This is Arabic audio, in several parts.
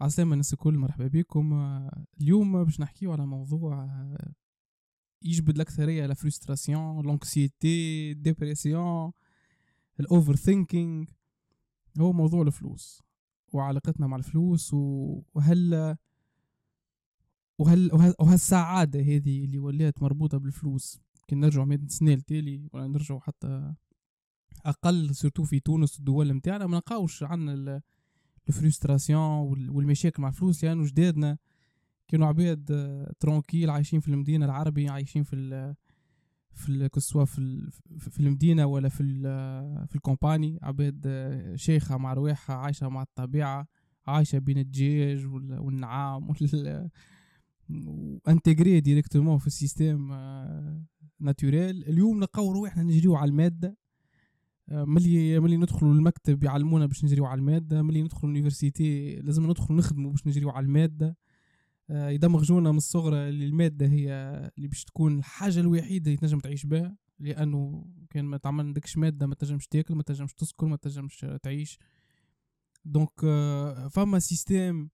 عسلامة الناس الكل، مرحبا بكم. اليوم باش نحكيو على موضوع يجبد الأكثرية، لا فرستراسيون، لانكسيتي، ديبرسيون، الأوفر ثينكينج. هو موضوع الفلوس وعلاقتنا مع الفلوس وهالسعادة هذه اللي ولات مربوطة بالفلوس. كي نرجعوا 100 سنة لتالي ولا نرجعوا حتى أقل، سورتو في تونس الدول متاعنا، ما نلقاوش عنا الفرستراسيون والمشاكل مع الفلوس، لأنه جدادنا كانوا عباد ترونكيل، عايشين في المدينة العربية، عايشين كسوا في المدينة ولا في الكومباني، عباد شيخة مع رواحها، عايشة مع الطبيعة، عايشة بين الدجاج والنعام وانتجري ديريكتومون في السيستم ناتوريل. اليوم نلقاو رواحنا نجريو على المادة. ملي ندخلوا المكتب يعلمونا باش نجريو على المادة، ملي ندخلوا اليونيفرسيتي لازم ندخلوا نخدموا باش نجريو على المادة. يدمغجونا من الصغرى اللي المادة هي اللي باش تكون الحاجة الوحيدة اللي تنجم تعيش بها، لأنه كان ما تعمل عندكش مادة ما تنجمش تاكل، ما تنجمش تسكن، ما تنجمش تعيش. دونك فما سيستم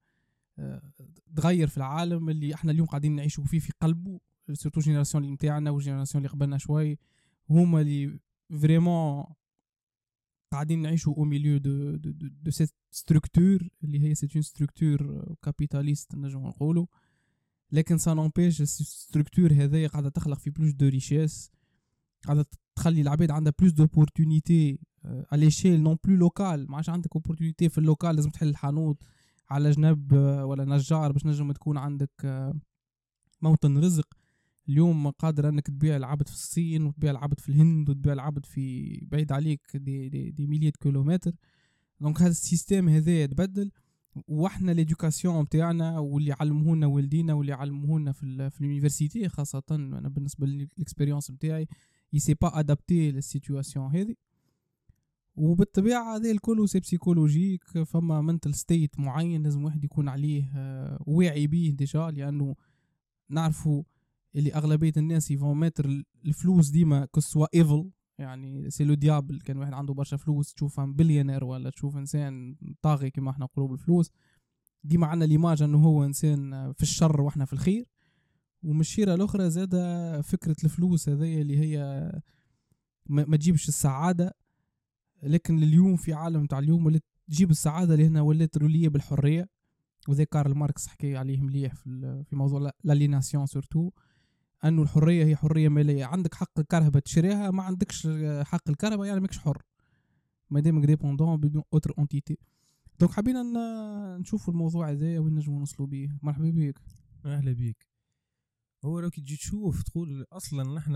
تغير في العالم اللي احنا اليوم قاعدين نعيشوا فيه في قلبه، سورتو جينيراسيون اللي متاعنا والجينيراسيون اللي قبلنا شوي، هما اللي فريمون قاعدين نعيشوا au milieu de cette structure اللي هي c'est une structure capitaliste نجم نقولوا. لكن ça n'empêche الستركتور هذه قاعدة تخلق في بلوس دو ريشيس، قاعدة تخلي العباد عندها بلوس دوبورتونيتي à l'échelle non plus locale. ما عادش عندك opportunité في اللوكال، لازم تحل الحانوت على جنب ولا نجار باش نجم تكون عندك موطن رزق. اليوم قادر انك تبيع العبد في الصين وتبيع العبد في الهند وتبيع العبد في بعيد عليك دي مليات كيلومتر. دونك هذا السيستم هذا يتبدل، واحنا ليدوكاسيون نتاعنا واللي علمونا والدينا واللي علمونا في اليونيفرسيتي خاصه، انا بالنسبه للاكسبيريونس نتاعي يسي با ادابتي للسيتواسيون هذه. وبالطبيعه هذا الكل سي بسيكولوجيك، فما منتل ستيت معين لازم واحد يكون عليه واعي بيه ديجا، لانه نعرفوا اللي اغلبيه الناس يفون ماتر الفلوس ديما كسوا ايفل، يعني سي لو ديابل. كان واحد عنده برشا فلوس تشوفه بليونير ولا تشوف انسان طاغي كما احنا نقولوا بالفلوس، ديما عندنا ليماج انه هو انسان في الشر واحنا في الخير. ومشيره الاخرى زاده فكره الفلوس هذه اللي هي ما تجيبش السعاده، لكن اليوم في عالم تاع اليوم ولات تجيب السعاده اللي هنا ولات روليه بالحريه. وذي كارل ماركس حكي عليه مليح في موضوع لاليناسيون، سورتو انه الحريه هي حريه ماليه. عندك حق الكرهبه تشريها، ما عندكش حق الكرهبه يعني ماكش حر، ما دامك ديبوندون بدون اوتر اونتيتي. دونك حبينا نشوفوا الموضوع هذا وين نجموا نوصلوا به. مرحبا بك. اهلا بيك. هو لو كي تجي تشوف تقول اصلا نحن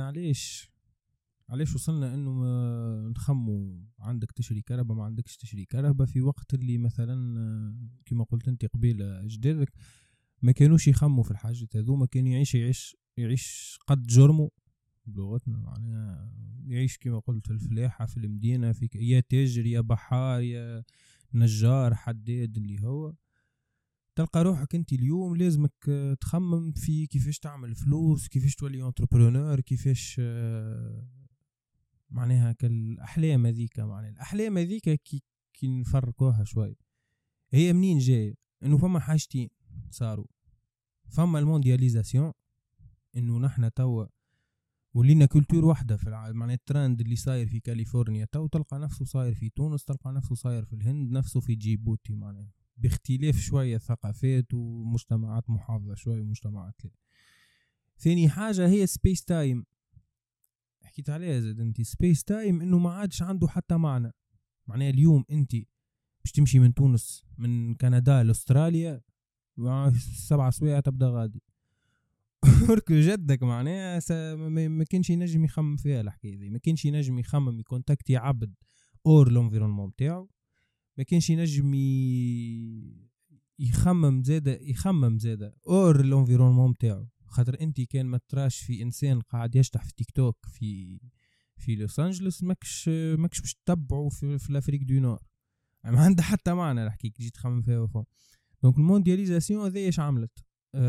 علاش وصلنا انه نخمو عندك تشري كهرباء ما عندكش تشري كهرباء، في وقت اللي مثلا كما قلت انت قبيل اجدادك ما كانوش يخموا في الحاجات هذو، ما كان يعيش قد جرمه بلغتنا، معناها يعيش كما قلت في الفلاحة في المدينة، في يا تاجر يا بحار يا نجار حداد اللي هو. تلقى روحك انت اليوم لازمك تخمم في كيفاش تعمل فلوس، كيفاش تولي انتربرونور، كيفاش معناها كالأحلام هذيك. معناها الأحلام هذيك كي نفرقوها شوي هي منين جاية؟ انه فما حاجتين صاروا. فما الموندياليزاسيون، انه نحن توا ولينا كولتور واحدة في العالم. معناها الترند اللي صاير في كاليفورنيا تو تلقى نفسه صاير في تونس، تلقى نفسه صاير في الهند، نفسه في جيبوتي، معناها باختلاف شوية ثقافات ومجتمعات محافظة شوية ومجتمعات لا. ثاني حاجة هي سبيس تايم، حكيت عليها زاد انتي. سبيس تايم انه ما عادش عنده حتى معنى. معناها اليوم انتي باش تمشي من تونس من كندا لاستراليا 7 سوايع تبدا غادي ورك جدك. معناها ما كانش ينجم يخمم فيها الحكايه دي، ما كانش ينجم يخمم يكونتاكتي عبد اور لونفيرونمون تاعو، ما كانش ينجم يخمم زاده اور لونفيرونمون تاعو. خاطر انت كان ما تراش في انسان قاعد يشطح في تيك توك في لوس انجلوس ماكش باش تتبعه في الافريك دو نور، ما عنده حتى معنى الحكي جيت تخمم فيها وفهم. دونك الموندياليزاسيون هذه ايش عملت؟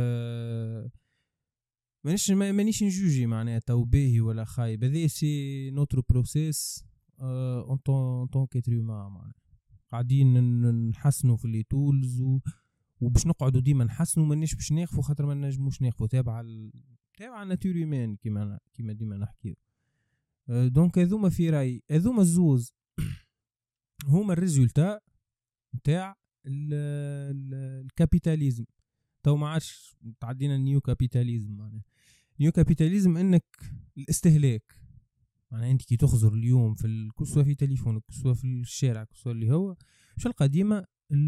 مانيش نجوجي معناها تو باهي ولا خايب، هذه سي نوتر بروسيس اون طون كيتر هيومان. معناها قاعدين نحسنوا في لي تولز وباش نقعدوا ديما نحسنوا مانيش باش ناخذوا خاطر ما نجموش ناخذوا تابع الناتور هيومان كيما ديما نحكيو. دونك هذوما في رايي هذوما الزوز هما الريزولتا نتاع الكابيتاليزم. تو ما عادش تعدينا النيو كابيتاليزم. معناها نيو كابيتاليزم انك الاستهلاك. معناها انت كي تخزر اليوم في كسوة في تليفونك كسوة في الشارع كسوة اللي هو مش القديمة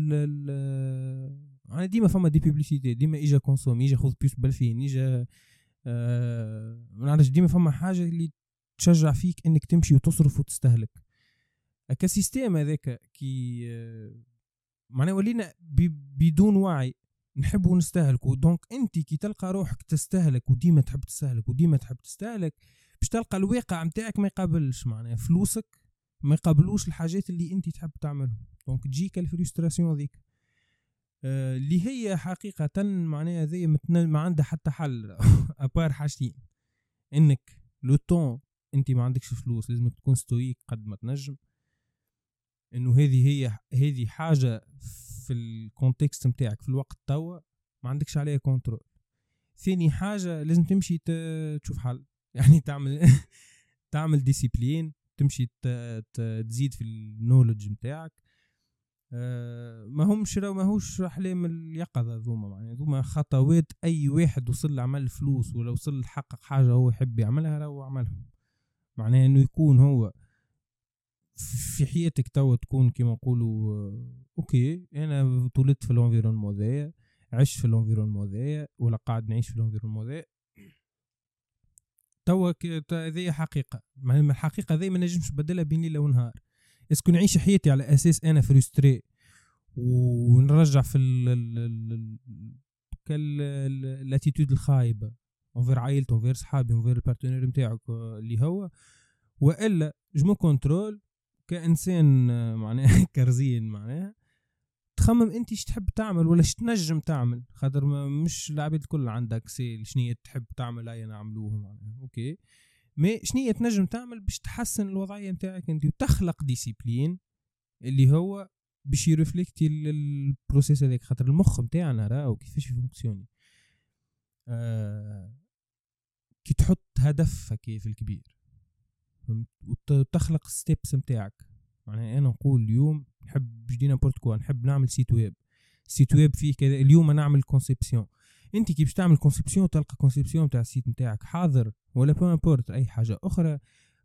انا ديما فما دي بيبليسيتي ديما اجا كونسومي اجا خذ بيوس بالفين اجا ما نعرفش ديما فما حاجة اللي تشجع فيك انك تمشي وتصرف وتستهلك. كسيستم هذاك كي معناه ولينا بدون وعي نحبوا نستهلكوا. دونك انت كي تلقى روحك تستهلك وديما تحب تستهلك باش تلقى الواقع متاعك ما يقابلش معناه فلوسك ما يقابلوش الحاجات اللي انت تحب تعملهم. دونك تجيك الفريستراسيون ذيك اللي هي حقيقة معناها ذي ما عندها حتى حل ابار حاجتين. انك لو طون انت ما عندكش فلوس لازم تكون ستويك قد ما تنجم. انه هذه حاجة في الكونتكست متاعك في الوقت توا ما عندكش عليها كنترول. ثاني حاجة لازم تمشي تشوف حل يعني تعمل ديسيبلين تمشي تزيد في النولج متاعك. ماهوش احلام اليقظة ذوما معناها ذوما خطوات اي واحد وصل لعمل فلوس ولا وصل لحقق حاجة هو يحب يعملها راهو عملهم. معناها انه يكون هو في حياتك توا تكون كما نقولوا اوكي انا تولدت في الانفيرونمون ذايا عشت في الانفيرونمون ذايا ولا قاعد نعيش في الانفيرونمون ذايا توا هذه حقيقه. ما الحقيقه ذي ما نجمش نبدلها بين ليله ونهار. اسكو نعيش حياتي على اساس انا فريستري ونرجع في الاتيتود الخايبه انفير عائلتي انفير صحابي انفير البارتنير نتاعك اللي هو والا جو كنترول كإنسان معناها كرزين معناها تخمم انت ايش تحب تعمل ولا ايش تنجم تعمل خاطر مش العباد الكل عندك سيل شنية تحب تعمل اي نعملوه معناها اوكي مي شنية تنجم تعمل باش تحسن الوضعية متاعك انت وتخلق ديسيبلين اللي هو باش يرفلكتي البروسيس هذاك خاطر المخ متاعنا راهو كيفاش يفونكسيوني. كي تحط هدف هكي في الكبير وتخلق ستيبس متاعك. معناها انا نقول اليوم نحب جدينا بورتكوا نحب نعمل سيت ويب فيه كذا اليوم نعمل كونسيبسيون. انت كي باش تعمل كونسيبسيون تلقى كونسيبسيون تاع السيت نتاعك حاضر ولا بورت اي حاجه اخرى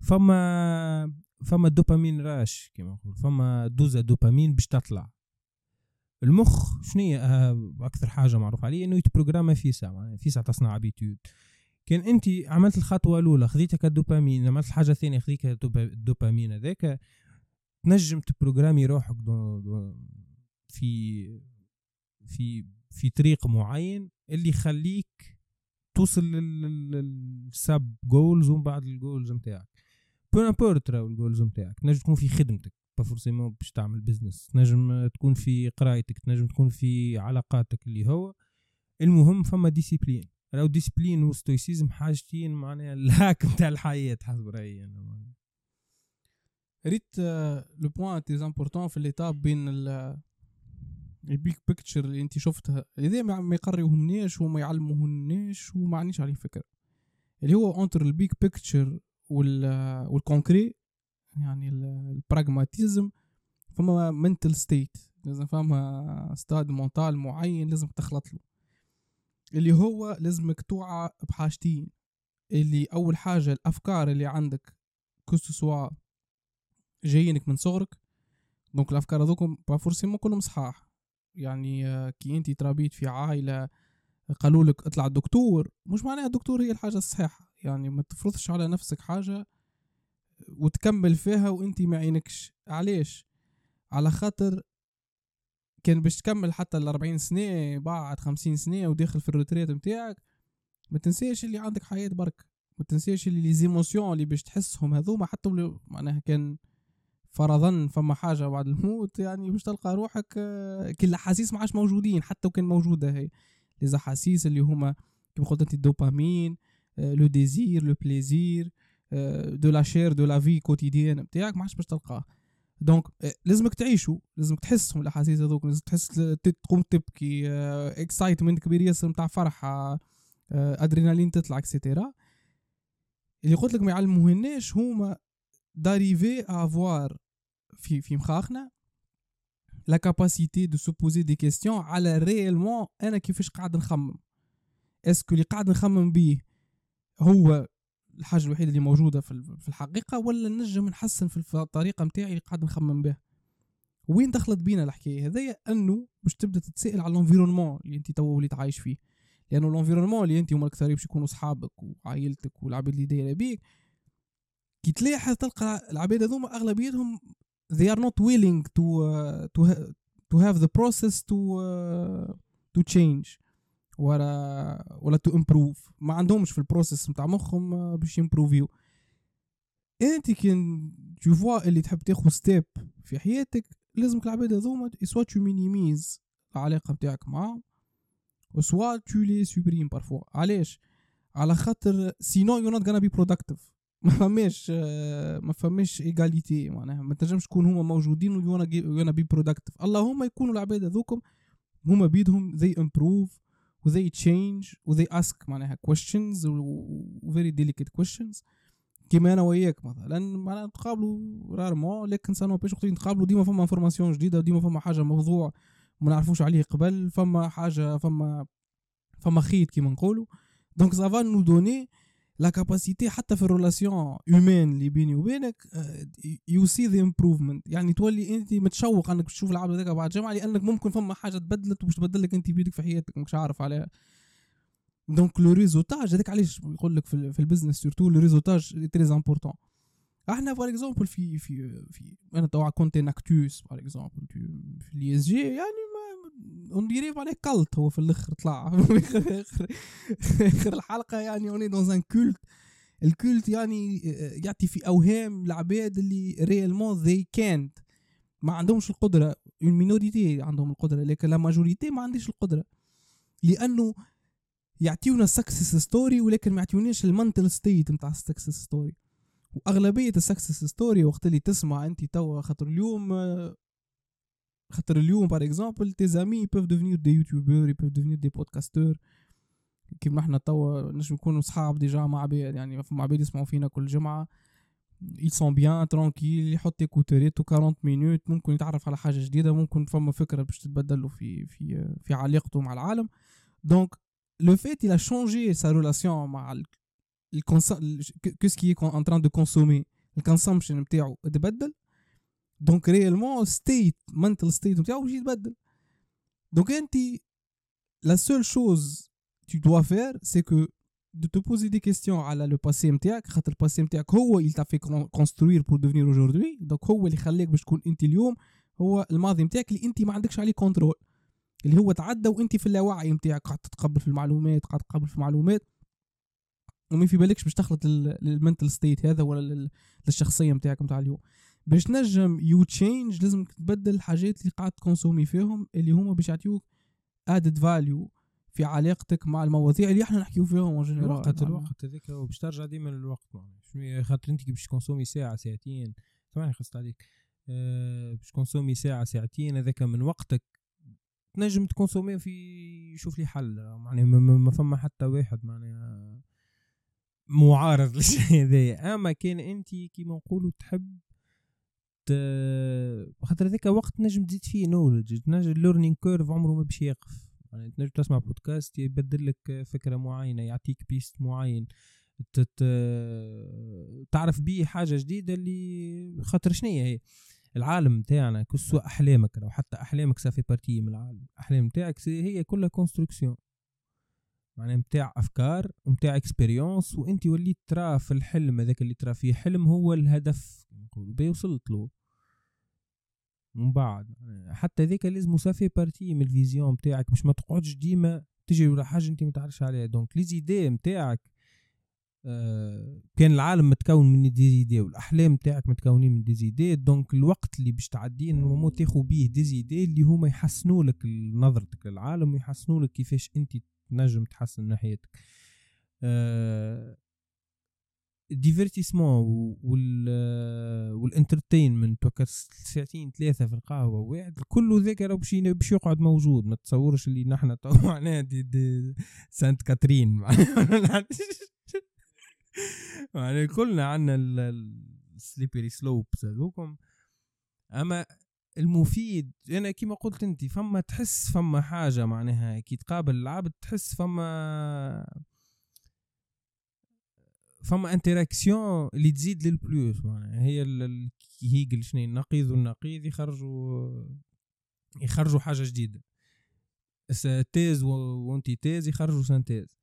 فما دوبامين راش كما نقول فما دوزه دوبامين باش تطلع. المخ شنية اكثر حاجه معروف عليه انه يتبروغرام في ساعه معناها في ساعه تصنع ابيتود. كان انت عملت الخطوه الاولى خذيتك الدوبامين عملت الحاجه الثانيه خذيك الدوبامين هذاك تنجم تبروغرامي روحك في طريق معين اللي يخليك توصل للسب جولز ومن بعد الجولز نتاعك بونابورت راهو الجولز نتاعك تنجم تكون في خدمتك با فورسيمون باش تعمل بزنس تنجم تكون في قرايتك تنجم تكون في علاقاتك اللي هو المهم فما ديسيبلين. راهو ديسيبلين وستويسيزم حاجتين معناها الهاك نتاع الحياه حسب رايي انا. ريت لو بوين تي امبورطون في ليتاب بين البيك بيكتشر اللي انت شفتها اذا ما يقريوهمنيش وما يعلموهنيش وما عنديش عليه فكره اللي هو انتر البيك بيكتشر والكونكري يعني البراغماتيزم فما منتل ستيت لازم فما ستاد مونتال معين لازم تخلط له اللي هو لازمك توعى بحاجتين. اللي اول حاجه الافكار اللي عندك كسوا جايينك من صغرك دونك الافكار هذوكم با فورسيمون كلهم صحاح يعني كي انتي تربيت في عائله قالوا لك اطلع دكتور مش معناها الدكتور هي الحاجه الصحيحه يعني ما تفرضش على نفسك حاجه وتكمل فيها وانتي ما عينكش. علاش؟ على خاطر كان باش تكمل حتى 40 سنه بعد 50 سنه وداخل في الروتريت نتاعك ما تنساش اللي عندك حياه برك ما تنساش اللي لي زيموسيون اللي باش تحسهم هذوما حتى معناها كان فرضا فما حاجه بعد الموت يعني باش تلقى روحك كل الاحاسيس ما عادش موجودين حتى وكان موجوده هي لي احاسيس اللي هما كيما قلت انت الدوبامين لو ديزير لو بليزير دو لا شير دو لا في كوتيديان نتاعك ما عادش باش تلقاه. دونك لازمك تعيشوا، لازمك تحسهم الاحاسيس هذوك، لازم تحس تقوم تبكي، اكسايتمنت كبير ياسر نتاع فرحه، ادرينالين تطلع اكسيتيرا. اللي قلت لك ما يعلموهناش هما داريفي افوار في مخاخنا لا كاباسيتي دو سو بوزي دي كيستيون على ريالمون انا كيفاش قاعد نخمم. اسكو اللي قاعد نخمم بيه هو الحاجه الوحيده اللي موجوده في الحقيقه، ولا نجم نحسن في الطريقه نتاعي اللي قاعد نخمم بها. وين دخلت بينا الحكايه هذيا؟ انه باش تبدا تتسائل على الانفيرونمون اللي انت تو وليت عايش فيه، لانه الانفيرونمون اللي انت هما الكثار باش يكونوا اصحابك وعائلتك والعباد اللي دايره بيك، كي تلاحظ تلقى العباد هذوما اغلبيتهم they are not willing to have the process to change ولا to improve. ما عندهمش في البروسيس نتاع مخهم باش يمبروفيو. انت كي تشوفوا اللي تحب تاخذ ستيب في حياتك، لازمك العباد هذوما سوا تو مينيميز العلاقه نتاعك معاهم وسوا تو لي سوبريم بارفوا. علاش؟ على خاطر سينو يو نوت غانا بي برودكتيف. ما فماش ايغاليتي، معناها ما تنجمش تكون هما موجودين ويونا بي برودكتيف. اللهم يكونوا العباد هذوكم هما بيدهم they improve و they change و they ask معناها questions و very delicate questions. كيما انا وياك مثلا معناها نتقابلوا رارمون، لكن سانو باش وقت نتقابلوا ديما فما انفورماسيون جديده، وديما فما حاجه موضوع ما نعرفوش عليه قبل، فما حاجه فما خيط كيما نقولوا. دونك سافا نو دوني لا كاباسيتي حتى في الريلاسيون هيومان اللي بيني وبينك يو سي ذا امبروفمنت. يعني تولي انت متشوق انك تشوف العبد هذاك بعد جمعه، لانك ممكن فما حاجه تبدلت وباش تبدلك انت بيدك في حياتك مش عارف عليها. دونك لو ريزولتاج هذاك علاش يقول لك في البزنس سورتو لو ريزولتاج تري امبورطون. احنا بار اكزومبل في انا توا كنت ناكتوس بار اكزومبل في لي اس جي، يعني اون ديري عليه كالت هو في الاخر طلع اخر الحلقه. يعني اوني دون ان كولت، الكولت يعني يعطي في اوهام العباد اللي ريالمون ذي كانت ما عندهمش القدره. المينوريتي عندهم القدره لكن لا ماجوريتي ما عنديش القدره، لانه يعطيونا سكسس ستوري ولكن ما يعطيوناش المنتل ستيت نتاع السكسس ستوري. واغلبيه السكسس ستوري وقت اللي تسمع انت توا خاطر اليوم بار اكزومبل تي زامي بيف ديفينير دي يوتيوبر، بيف ديفينير دي بودكاستور، كيما احنا توا نجم نكونوا صحاب ديجا مع عباد، يعني مع عباد يسمعوا فينا كل جمعه ils sont bien tranquille، يحط ايكوتوريت 40 مينوت ممكن يتعرف على حاجه جديده، ممكن فما فكره باش تتبدل له في علاقته مع العالم. دونك le fait il a changé sa relation مع qu'est-ce qui est en train de consommer، الكونسومشن نتاعو تبدل. دونك ريالمون ستيت mental state نتاعو باش يتبدل. دونك انت la seule chose tu dois faire c'est que de te poser des questions على le passé نتاعك، خاطر الباسي نتاعك هو il t'a fait construire pour devenir aujourd'hui. دونك هو اللي خليك باش تكون انت اليوم، هو الماضي نتاعك اللي انت ما عندكش عليه كنترول، اللي هو تعدى وانت في اللاوعي نتاعك قاعد تتقبل في المعلومات وما في بالكش باش تخلط المنتل ستيت هذا ولا للشخصيه نتاعك نتاع اليوم. باش نجم يو تشينج لازم تبدل الحاجات اللي قاعد تكونسومي فيهم، اللي هما باش يعطيوك ادد فاليو في علاقتك مع المواضيع اللي احنا نحكيو فيهم الوقت هذاك باش ترجع ديما للوقت. شنو خاطر انت باش تكونسومي ساعه ساعتين، ثواني خلصت عليك، باش تكونسومي ساعه ساعتين هذاك من وقتك تنجم تكونسومي في شوف لي حل. يعني ما فما حتى واحد معناها معارض للشيء هذا. اما كان انت كيما نقولوا تحب خاطر هذاك وقت نجم تزيد فيه نولج، نجم الليرنينج كيرف عمره ما باش يقف. يعني تنجم تسمع بودكاست يبدل لك فكره معينه، يعطيك بيست معين تعرف بيه حاجه جديده. اللي خاطر شنية هي العالم تاعنا كسوا احلامك، لو حتى احلامك سافي بارتي من العالم، احلام تاعك هي كلها كونستركسيون معناها متاع افكار ومتاع اكسبيريونس، وانت وليت ترى في الحلم هذاك اللي ترى فيه حلم هو الهدف نقول بيوصلت له من بعد. حتى ذيك لازم سافي بارتي من الفيزيون بتاعك، مش ما تقعدش ديما تجي ولا حاجه انت ما تعرفش عليها. دونك لي زيدي نتاعك كان العالم متكون من دي زيدي والاحلام نتاعك متكونين من دي زيدي. دونك الوقت اللي باش تعديه نورمالمون تاخذ بيه دي زيدي اللي هما يحسنوا لك نظرتك للعالم ويحسنوا لك كيفاش انت تنجم تحسن من ناحيتك. الديفيرتيسمون والانترتينمنت وكا ساعتين 3 في القهوه واحد كله ذاك راه باش يقعد موجود. ما تصورش اللي نحن تو معناها دي سانت كاترين معناها كلنا عندنا السليبري سلوبس هذوكم. اما المفيد انا كيما قلت انت فما تحس فما حاجه معناها كي تقابل العبد تحس فما انتراكسيون اللي تزيد للبلوس معناها هي هيجل شنو النقيض والنقيض يخرجوا حاجه جديده. تيز وانتي تيز يخرجوا سانتيز.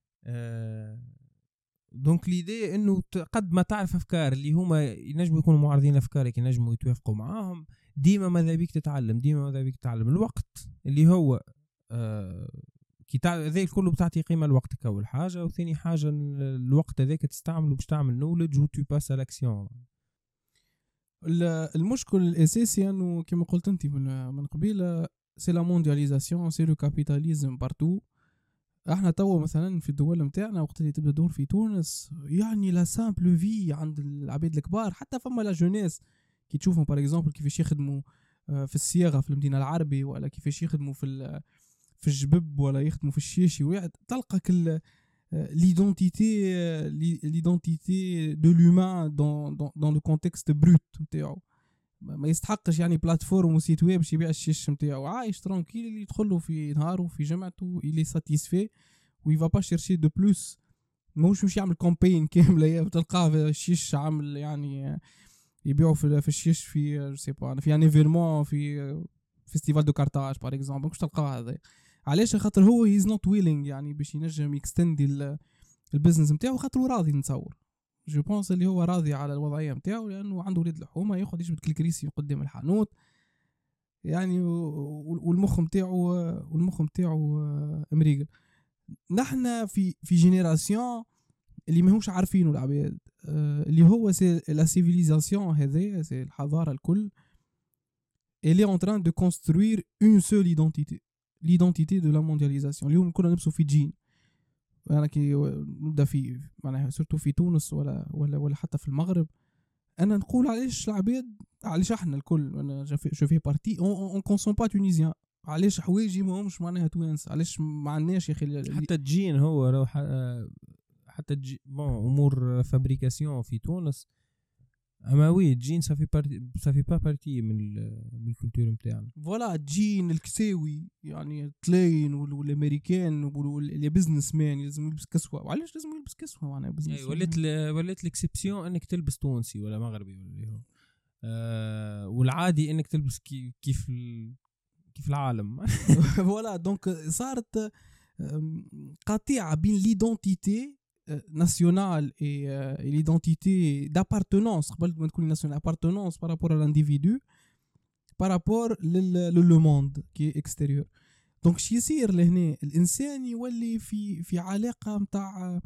دونك ليدي انه قد ما تعرف افكار اللي هما ينجموا يكونوا معارضين افكارك ينجموا يتوافقوا معاهم ديما ماذا بيك تتعلم الوقت اللي هو كي ذي كله بتعطي قيمه لوقتك اول حاجه. وثاني حاجه الوقت هذاك تستعمله باش تعمل نولج و تو باس الاكسيون. المشكل الاساسي انه كما قلت انت من قبيله سي لا موندياليزاسيون سي لو كابيتاليزم بارتو. احنا توا مثلا في الدول نتاعنا وقت اللي تبدا دور في تونس يعني لا سامبل في عند العباد الكبار حتى فما لا جونيس كي تشوفهم باغ اكزومبل كيفاش يخدموا في الصياغه في المدينه العربي ولا كيفاش يخدموا في الجبب ولا يخدموا في الشيشي واحد تلقى كل l'identité de l'humain dans le contexte brut نتاعو. ما يستحقش يعني بلاتفورم وسيت ويب باش يبيع الشيش نتاعو عايش ترانكيل اللي يدخلوا في نهاره في جمعته il est satisfait و il va pas chercher de plus. مش يعمل كامبين كامله بتلقاه الشيش عامل يعني يبيعوا في الشيش في جو سي با في ان ايفينمون في فيستيفال دو كارتاج باغ اكزومبل مش تلقاه هذا. علاش؟ خاطر هو هيز نوت ويلينغ يعني باش ينجم يكستندي البيزنس نتاعو خاطر راضي. نتصور جو بونس اللي هو راضي على الوضعيه نتاعو لانه عنده ولاد الحومه ياخذ يجبد الكريسي قدام الحانوت يعني والمخ نتاعو امريكا. نحنا في جينيراسيون اللي ماهوش عارفينه العباد اللي هو سي لا سيفيليزاسيون هذه سي الحضاره الكل elle est en train de construire une seule identité l'identité de la mondialisation. اليوم كلنا نلبسوا في جين. انا كي نبدا في معناها سورتو في تونس ولا حتى في المغرب انا نقول علاش العباد علاش احنا الكل انا جو في بارتي اون كونسوم با تونيزيان علاش حوايجي ماهمش معناها توانس علاش ما عندناش يا اخي حتى الجين هو روح حتى امور فابريكاسيون في تونس. اما وي الجين صافي با بارتي من الكولتور نتاعنا. فوالا الجين الكساوي يعني تلاين والامريكان واللي بزنس مان لازم يلبس كسوه. وعلاش لازم يلبس كسوه معناها بزنس؟ ولات الاكسبسيون انك تلبس تونسي ولا مغربي ولا هو والعادي انك تلبس كيف العالم. فوالا دونك صارت قطيعه بين ليدونتيتي nationale et l'identité d'appartenance قبل ما تكون nationale appartenance par rapport à l'individu par rapport le monde qui est extérieur. donc شي يصير لهنا الانسان يولي في علاقه نتاع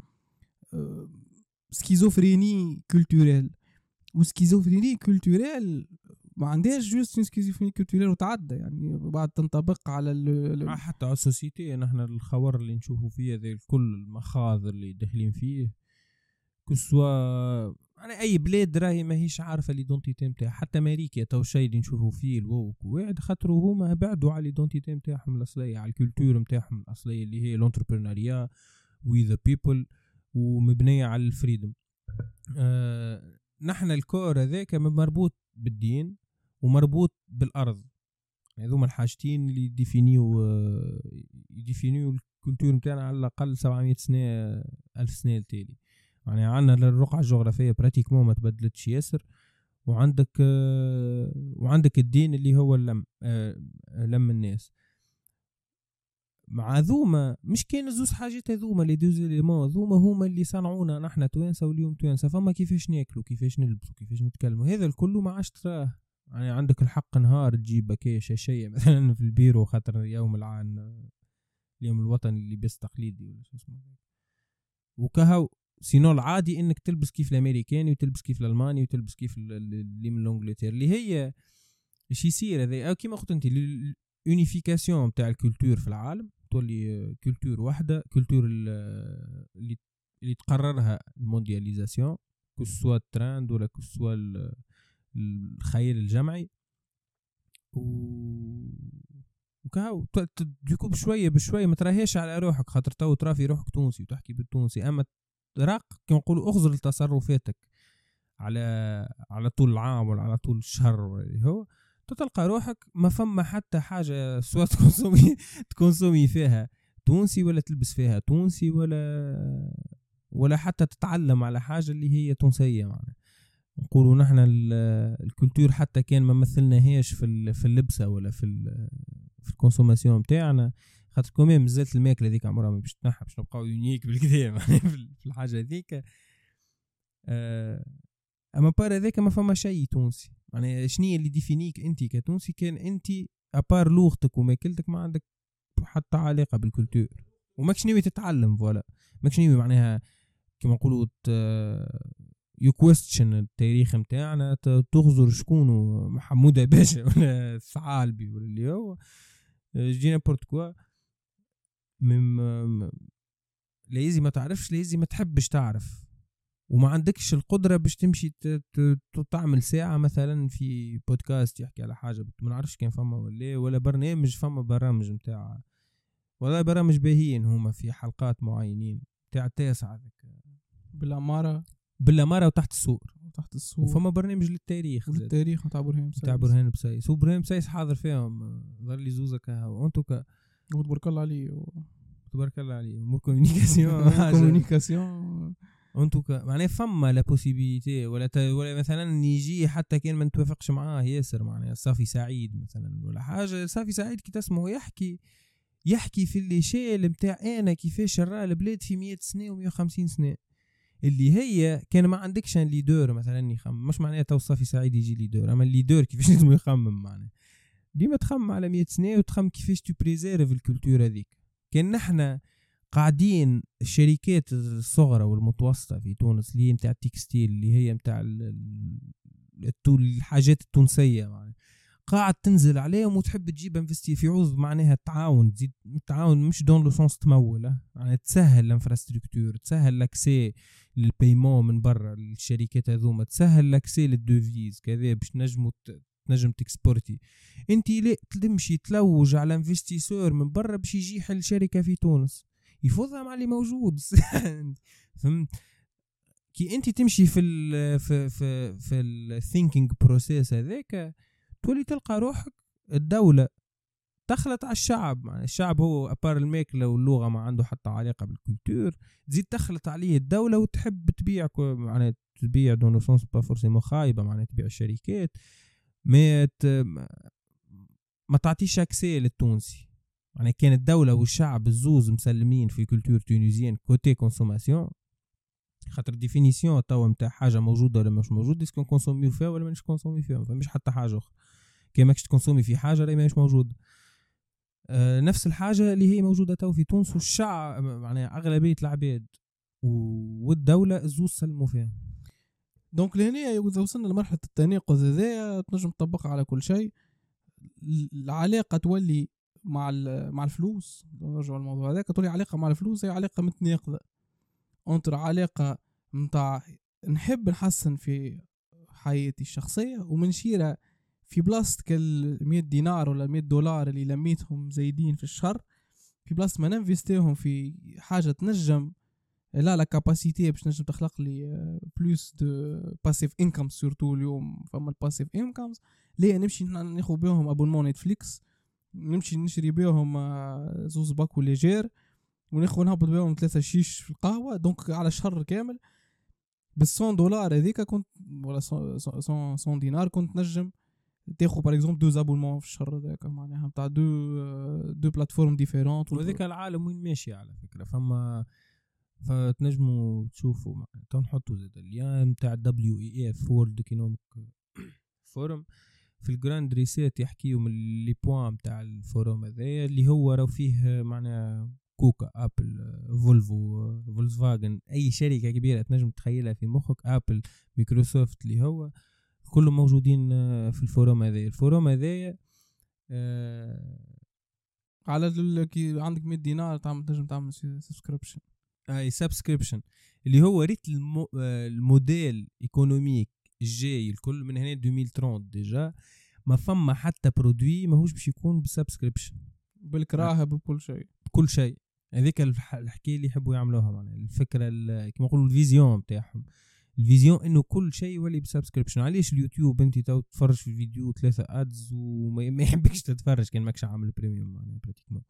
سكيزوفريني كولتوريل. وسكيزوفريني كولتوريل ما عندهاش جوست سكيزوفريني كولتوريل وتعدى يعني بعد تنطبق على حتى على السوسيتي. نحن الخور اللي نشوفوا فيه ذي كل المخاض اللي داخلين فيه كسوا يعني اي بلاد راهي ماهيش عارفه ليدونتيتي نتاعها. حتى امريكا تو شيء اللي نشوفوا فيه الووك واحد خاطروا هما بعدوا على ليدونتيتي نتاعهم الاصليه على الكولتور نتاعهم الاصليه اللي هي الانتربرونيريا وي ذا بيبل ومبنيه على الفريدم. نحن الكور هذاك مربوط بالدين ومربوط بالارض. هذوما الحاجتين اللي يديفينيو الكولتور نتاعنا على الاقل 700 سنه 1000 سنه التالي. يعني عندنا الرقعه الجغرافيه براتيكمون ما تبدلتش ياسر. وعندك الدين اللي هو لم الناس مع ذوما. مش كاين زوز حاجات هذوما اللي دوز ليمون ذوما هما اللي صنعونا نحن توانسه واليوم توانسه. فما كيفاش ناكلوا كيفاش نلبسوا كيفاش نتكلموا هذا الكل ما عادش تراه. يعني عندك الحق نهار تجيب بكاش شيء مثلا في البيرو خاطر اليوم الوطني اللي بس تقليدي ولا شو اسمه وكهو سينو العادي انك تلبس كيف الامريكاني وتلبس كيف الالماني وتلبس كيف اللي من انجلترا اللي هي ايش يصير هذا او كيما قلت انت اليونيفيكاسيون تاع الكولتور في العالم تولي كولتور واحده كولتور اللي تقررها الموندياليزاسيون كسوا الترند ولا كسوا الخيال الجمعي وكاو ديكو بشويه ما تراهيش على روحك، خاطر تو ترى في روحك تونسي وتحكي بالتونسي، اما راق كي نقولوا اخزر لتصرفاتك على طول العام ولا على طول الشهر ولا هو تلقى روحك ما فما حتى حاجه سواء تكونسومي فيها تونسي ولا تلبس فيها تونسي ولا حتى تتعلم على حاجه اللي هي تونسيه. معنا نقولوا نحن الكولتور حتى كان ما مثلناهاش في اللبسه ولا في الكونسوماسيون نتاعنا، خاطر كمان مازالت الماكله هذيك عمرها ما باش تنحى، باش نبقاو يونيك بالكدا في الحاجه هذيك. اما بار هذاك ما فما شيء تونسي. يعني شنية اللي ديفينيك انت كتونسي؟ كان انت ابار لغتك وماكلتك ما عندك حتى علاقه بالكولتور، وماكش ناوي تتعلم فوالا، ماكش ناوي معناها كما نقولوا يو كويستشن التاريخ نتاعنا، تغزر شكون محمود باشا ولا ثعالبي ولا اللي هو جينا بورتكوا لازم ما تعرفش، لازم ما تحبش تعرف، وما عندكش القدرة باش تمشي تعمل ساعة مثلا في بودكاست يحكي على حاجة ما نعرفش كان فما ولا برنامج، فما برامج متاع ولا برامج باهيين هما في حلقات معينين تاع التاسعة بالأمارة وتحت السور وفما برنامج للتاريخ تاع برهان بسايس وبرهان بسايس حاضر فيهم، ظل لي زوزة كها وانتو تبارك الله عليه امور كومونيكاسيون انتو معناه فما لا بوسيبيليتي ولا مثلا يجي حتى كان ما نتوافقش معاه ياسر، معناه صافي سعيد مثلا ولا حاجه، صافي سعيد كي تسمعه يحكي في اللي شيء نتاع انا كيفاش راه البلاد في 100 سنه و150 سنه، اللي هي كان ما عندكش ان ليدر مثلا يخمم، مش معناه تو صافي سعيد يجي ليدر، اما الليدر كيفاش لازم يخمم، معناه ديما تخمم على 100 سنه وتخمم كيفاش تبريزيرف الكولتور هذيك. كان نحنا قاعدين الشركات الصغرى والمتوسطة في تونس اللي هي متاع التكستيل اللي هي متاع الحاجات التونسية، يعني قاعد تنزل عليهم وتحب تجيب انفستي في عوض معناها التعاون، تزيد التعاون مش دون لو سونس تمول، يعني تسهل الانفراستركتور، تسهل لاكسي للبيمون من برا الشركات هذوما، تسهل لاكسي للدوفيز كذا باش نجم تكسبورتي. انت لا تمشي تلوج على انفستيسور من برا باش يجي يحل شركة في تونس يفوضها مع اللي موجود. فهمت؟ كي انت تمشي في الثينكينج بروسيس هذاك تولي تلقى روحك الدولة تخلط على الشعب، يعني الشعب هو أبار الماكلة واللغة ما عنده حتى علاقة بالكولتور، تزيد تخلط عليه الدولة وتحب تبيع، يعني تبيع دون سونس با فورسيمون خايبة، يعني تبيع الشركات ما تعطيش اكسي للتونسي. يعني كان الدولة والشعب الزوز مسلمين في كولتور تونيزيان كوتي كونسوماسيون، خاطر ديفينيسيون توا متاع حاجة موجودة ولا مش موجودة، اسكو كونسومي فيها ولا مش كونسومي فيها، فمش حتى حاجة أخرى. كي ماكش تكونسومي في حاجة لا مش موجودة. نفس الحاجة اللي هي موجودة تو في تونس، والشعب يعني أغلبية العباد والدولة الزوز سلموا فيها. دونك لهنا إذا وصلنا لمرحلة التناقض هذايا تنجم تطبقها على كل شيء. العلاقة تولي مع الفلوس، نرجع الموضوع هذاك، تولي علاقة مع الفلوس هي علاقة متناقضة. انتر علاقة متاع نحب نحسن في حياتي الشخصية ومنشيرة في بلاصة كال 100 دينار ولا 100 دولار اللي لميتهم زايدين في الشهر، في بلاصة ما ننفستيهم في حاجة تنجم لا كاباسيتي باش نجم تخلق لي بلوس دو باسيف انكم. سورتو اليوم فما الباسيف انكمز ليه نمشي ناخذ بهم ابونمون نتفليكس، نمشي نشري بهم زوز باكو ليجير وناخذ نهبط بهم 3 شيش في القهوه. دونك على شهر كامل بال100 دولار هذيك كنت ولا 100 دينار كنت نجم تاخذ باغ اكزومبل 2 ابونمون في الشهر هذاك، معناها نتاع دو بلاتفورم ديفيرونت. وهذاك العالم وين ماشي على فكره، فما فتنجموا تشوفوا تنحطوا زاد اللين نتاع WEF World Economic Forum في الجراند ريسيت، يحكيوا من لي بوين نتاع الفوروم هذا اللي هو راو فيه معناها كوكا، ابل، فولفو، فولكسفاجن، اي شركه كبيره تنجم تخيلها في مخك، ابل، مايكروسوفت، اللي هو كلهم موجودين في الفوروم هذا. الفوروم هذا على كي عندك 100 دينار تنجم تعمل سبسكريبشن هاي سبسكريبشن اللي هو ريت الموديل ايكونوميك الجاي الكل من هنا 2030 ديجا ما فما حتى برودوي ماهوش باش يكون بسبسكريبشن بالكراهه بكل شيء. بكل شيء. هذيك الحكايه اللي يحبوا يعملوها معناها الفكره كما نقولوا الفيزيون نتاعهم. الفيزيون انه كل شيء يولي بسبسكريبشن. علاش اليوتيوب انت تتفرج في الفيديو 3 ادز وما يحبكش تتفرج كان ماكش عامل بريميوم معناها براتيكمون.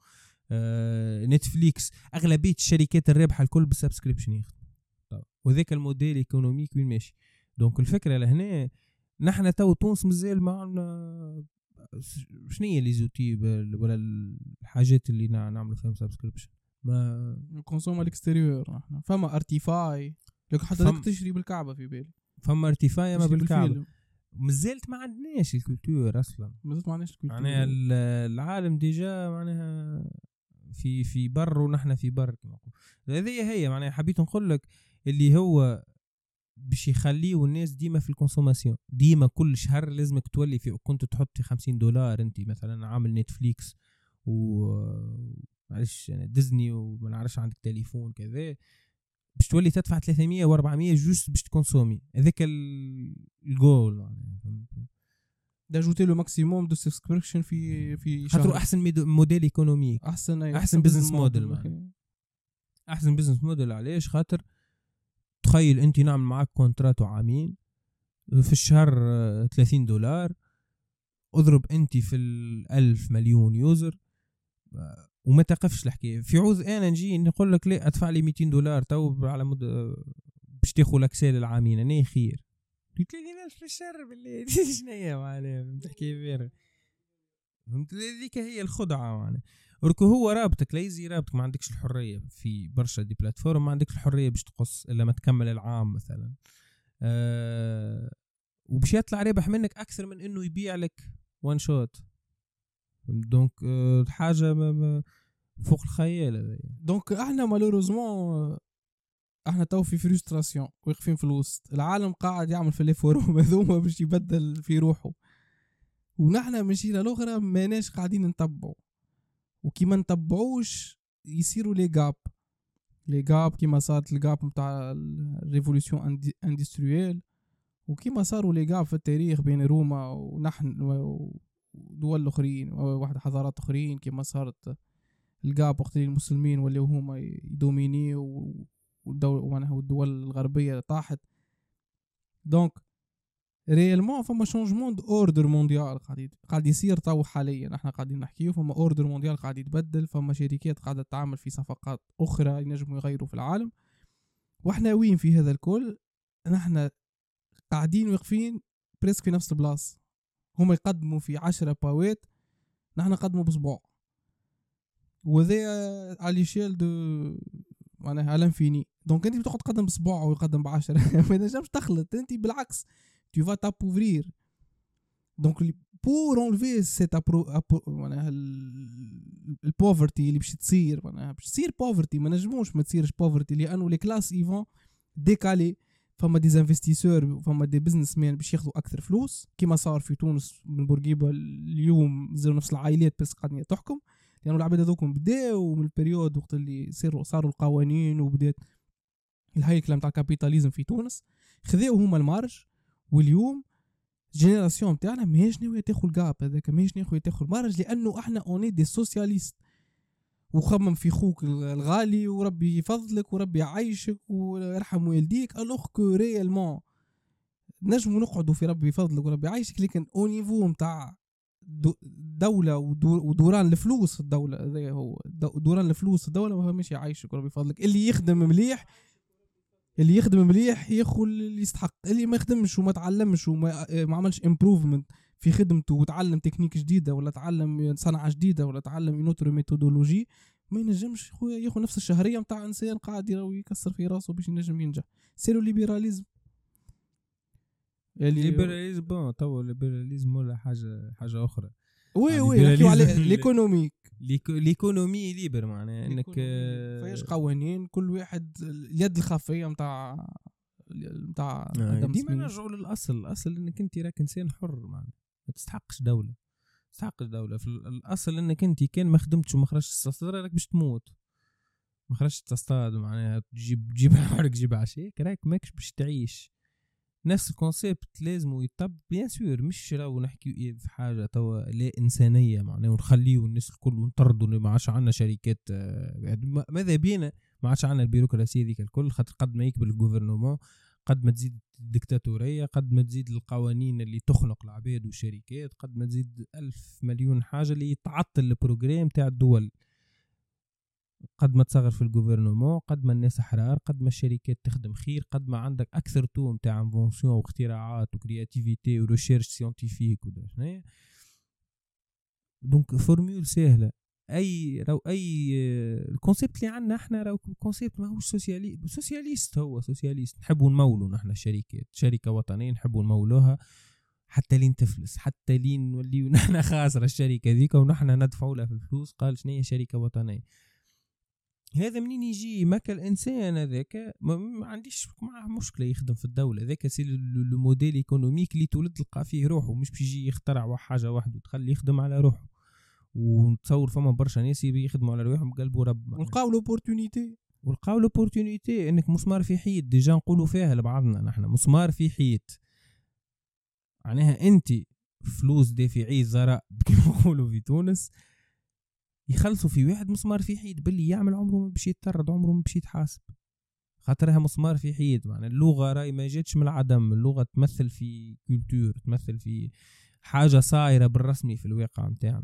نتفليكس اغلبيه الشركات الرابحه الكل بالسبسكريبشن يخدموا. وذاك الموديل ايكونوميك وين ماشي. دونك الفكره لهنا نحن تو تونس مازال معنا شنو هي لي زوتي ولا الحاجات اللي نعملوا فيهم سبسكريبشن. ما كونسوم الاكستيريور احنا فما ارتيفاي لك حتى لك تشري بالكعبه في بالي. فما ارتفاع ما بالكعبه. مازالت ما عندناش الكولتور اصلا. مازالت ما عندناش الكولتور. معناها العالم ديجا معناها في بر ونحن في بر كما نقول. هذه هي معناها حبيت نقول لك اللي هو باش يخليوا الناس ديما في الكونسوماسيون. ديما كل شهر لازمك تولي في كنت تحط $50 انت مثلا عامل نتفليكس و معلش يعني ديزني وما نعرفش عندك تليفون كذا باش تولي تدفع 300 و400 جوست باش تكونسومي. هذاك الجول معناها داجوتي لو ماكسيموم دو سبسكريبشن في شهر. خاطر احسن موديل ايكونوميك احسن بزنس موديل. احسن بزنس موديل علاش؟ خاطر تخيل انت نعمل معاك كونتراتو عامين في الشهر $30 اضرب انت في 1000 مليون يوزر وما تقفش الحكايه. في عوض انا نجي نقول لك لا ادفع لي $200 تو على مود باش تاخذ لاكسيل العامين انا خير. قلت لي في الشهر بالله شنو هي معناها تحكي فيها. فهمت ذيك هي الخدعه معناها. وركو هو رابطك ليزي رابطك ما عندكش الحريه في برشا دي بلاتفورم ما عندكش الحريه باش تقص الا ما تكمل العام مثلا. وباش يطلع رابح منك اكثر من انه يبيع لك وان شوت. دونك حاجه فوق الخيال. دونك احنا مالوروزمون احنا تو في فريستراسيون واقفين في الوسط. العالم قاعد يعمل في لي فوروم هذوما باش يبدل في روحه ونحن من شيله الاخرى ماناش قاعدين نتبعوا. وكيما نتبعوش يصيروا لي غاب كيما صارت الغاب نتاع الريفولوشن اندستريال وكيما صاروا لي غاب في التاريخ بين روما ونحن ودول اخرين واحد حضارات اخرين كيما صارت الغاب وقت المسلمين واللي هما يدوميني والدول الغربيه طاحت. دونك ريالمون فما شونجمون دو اوردر مونديال قاعد يصير تو حاليا. احنا قاعدين نحكيو فما اوردر مونديال قاعد يتبدل. فما شركات قاعده تعمل في صفقات اخرى ينجموا يغيروا في العالم. واحنا وين في هذا الكل؟ نحن قاعدين واقفين بريسك في نفس البلاصه. هما يقدموا في 10 باوات نحن نقدموا بصباع. وذا على شيل دو معناها الانفيني. دونك انت بتقعد تقدم بصباع ويقدم ب10 ما تنجمش تخلط انت بالعكس tu vas t'appauvrir. Donc pour enlever cette معناها البوفرتي اللي باش تصير معناها باش تصير بوفرتي ما نجموش ما تصيرش بوفرتي لانه لي كلاس ايفون ديكالي. فما دي انفستيسور فما دي بزنس مان باش ياخذوا اكثر فلوس كيما صار في تونس من بورقيبه اليوم زي نفس العائلات بس قاعدين تحكم لانه العباد هذوكم بداوا من البريود وقت اللي صاروا القوانين وبدات الهيكله نتاع الكابيتاليزم في تونس خذاو هما المارج. واليوم الجينيراسيون تاعنا ماهيش ناويه تاخذ الجاب هذاك ماهيش ناويه تاخذ المارج لانه احنا اوني دي سوسياليست. وخمم في خوك الغالي وربي يفضلك وربي يعيشك ويرحم والديك الوغ كو ريالمون نجموا نقعدوا في ربي يفضلك وربي يعيشك لكن او نيفو نتاع دولة ودوران الفلوس الدولة هذا هو دوران الفلوس الدولة ما ماشي يعيشك وربي يفضلك. اللي يخدم مليح ياخذ اللي يستحق. اللي ما يخدمش وما تعلمش وما عملش امبروفمنت في خدمته وتعلم تكنيك جديدة ولا تعلم صنعة جديدة ولا تعلم ينوتر ميثودولوجي ما ينجمش خويا ياخذ نفس الشهرية متاع انسان قاعد يكسر في راسه باش ينجم ينجح. سيرو ليبراليزم الليبراليزم بون تو الليبراليزم ولا حاجة أخرى. وي نحكيو على ليكونوميك ليكونومي ليبر معناها انك فيش قوانين كل واحد اليد الخفيه نتاع ديما نرجعوا للاصل انك انت راك انسان حر معناها ما تستحقش دوله في الاصل انك انت كان ما خدمتش وما خرجتش السطر راك باش تموت ما خرجت تصطاد معناها تجيب حوالك جيب عشاء راك ماكش باش تعيش. نفس الكونسيبت لازم يطبق بيان سور، مش راهو نحكي في حاجه توا لا انسانيه معناها ونخليو الناس الكل ونطردوا ما عادش عندنا شركات ماذا بينا ما عادش عندنا البيروقراطيه ذيك الكل، خاطر قد ما يكبر الجوفرنمون قد ما تزيد الدكتاتوريه، قد ما تزيد القوانين اللي تخنق العباد والشركات، قد ما تزيد 1000 مليون حاجه اللي تعطل البروجرام تاع الدول. قد ما تصغر في الجوفرنمون قد ما الناس احرار، قد ما الشركات تخدم خير، قد ما عندك اكثر توم تاع انفونسيون واختراعات وكرياتيفيتي وريشيرش سيانتيفيك ودا شنو. دونك فورمول سهله. اي الكونسيبت اللي عندنا احنا راهو كونسيبت ماهوش سوسياليست، هو سوسياليست. نحبوا نمولوا نحن الشركات، شركه وطنيه نحبوا نمولوها حتى لين تفلس، حتى لين نوليو نحن خاسره الشركه ذيك ونحن ندفعوا لها في الفلوس. قال شنو هي شركه وطنيه؟ هذا منين يجي؟ ماك الانسان هذاك ما عنديش معه مشكله يخدم في الدوله، ذاك سي لو موديل ايكونوميك اللي تولد تلقى فيه روحه، مش باش يجي يخترع حاجه واحده وتخليه يخدم على روحه. ونتصور فما برشا ناس يخدموا على روحهم بقلبوا رب، ولقاو لوبورتونيتي انك مسمار في حيط. ديجا نقولوا فيها لبعضنا نحن مسمار في حيط، معناها انت فلوس دافعي زراء كما نقولوا في تونس يخلصوا في واحد مسمار في حيط باللي يعمل عمره ما باش يتطرد، عمره ما باش يتحاسب، خاطرها مسمار في حيط. معناها اللغه راي ما جاتش من العدم، اللغه تمثل في كولتور، تمثل في حاجه صايره بالرسمي في الواقع نتاعنا.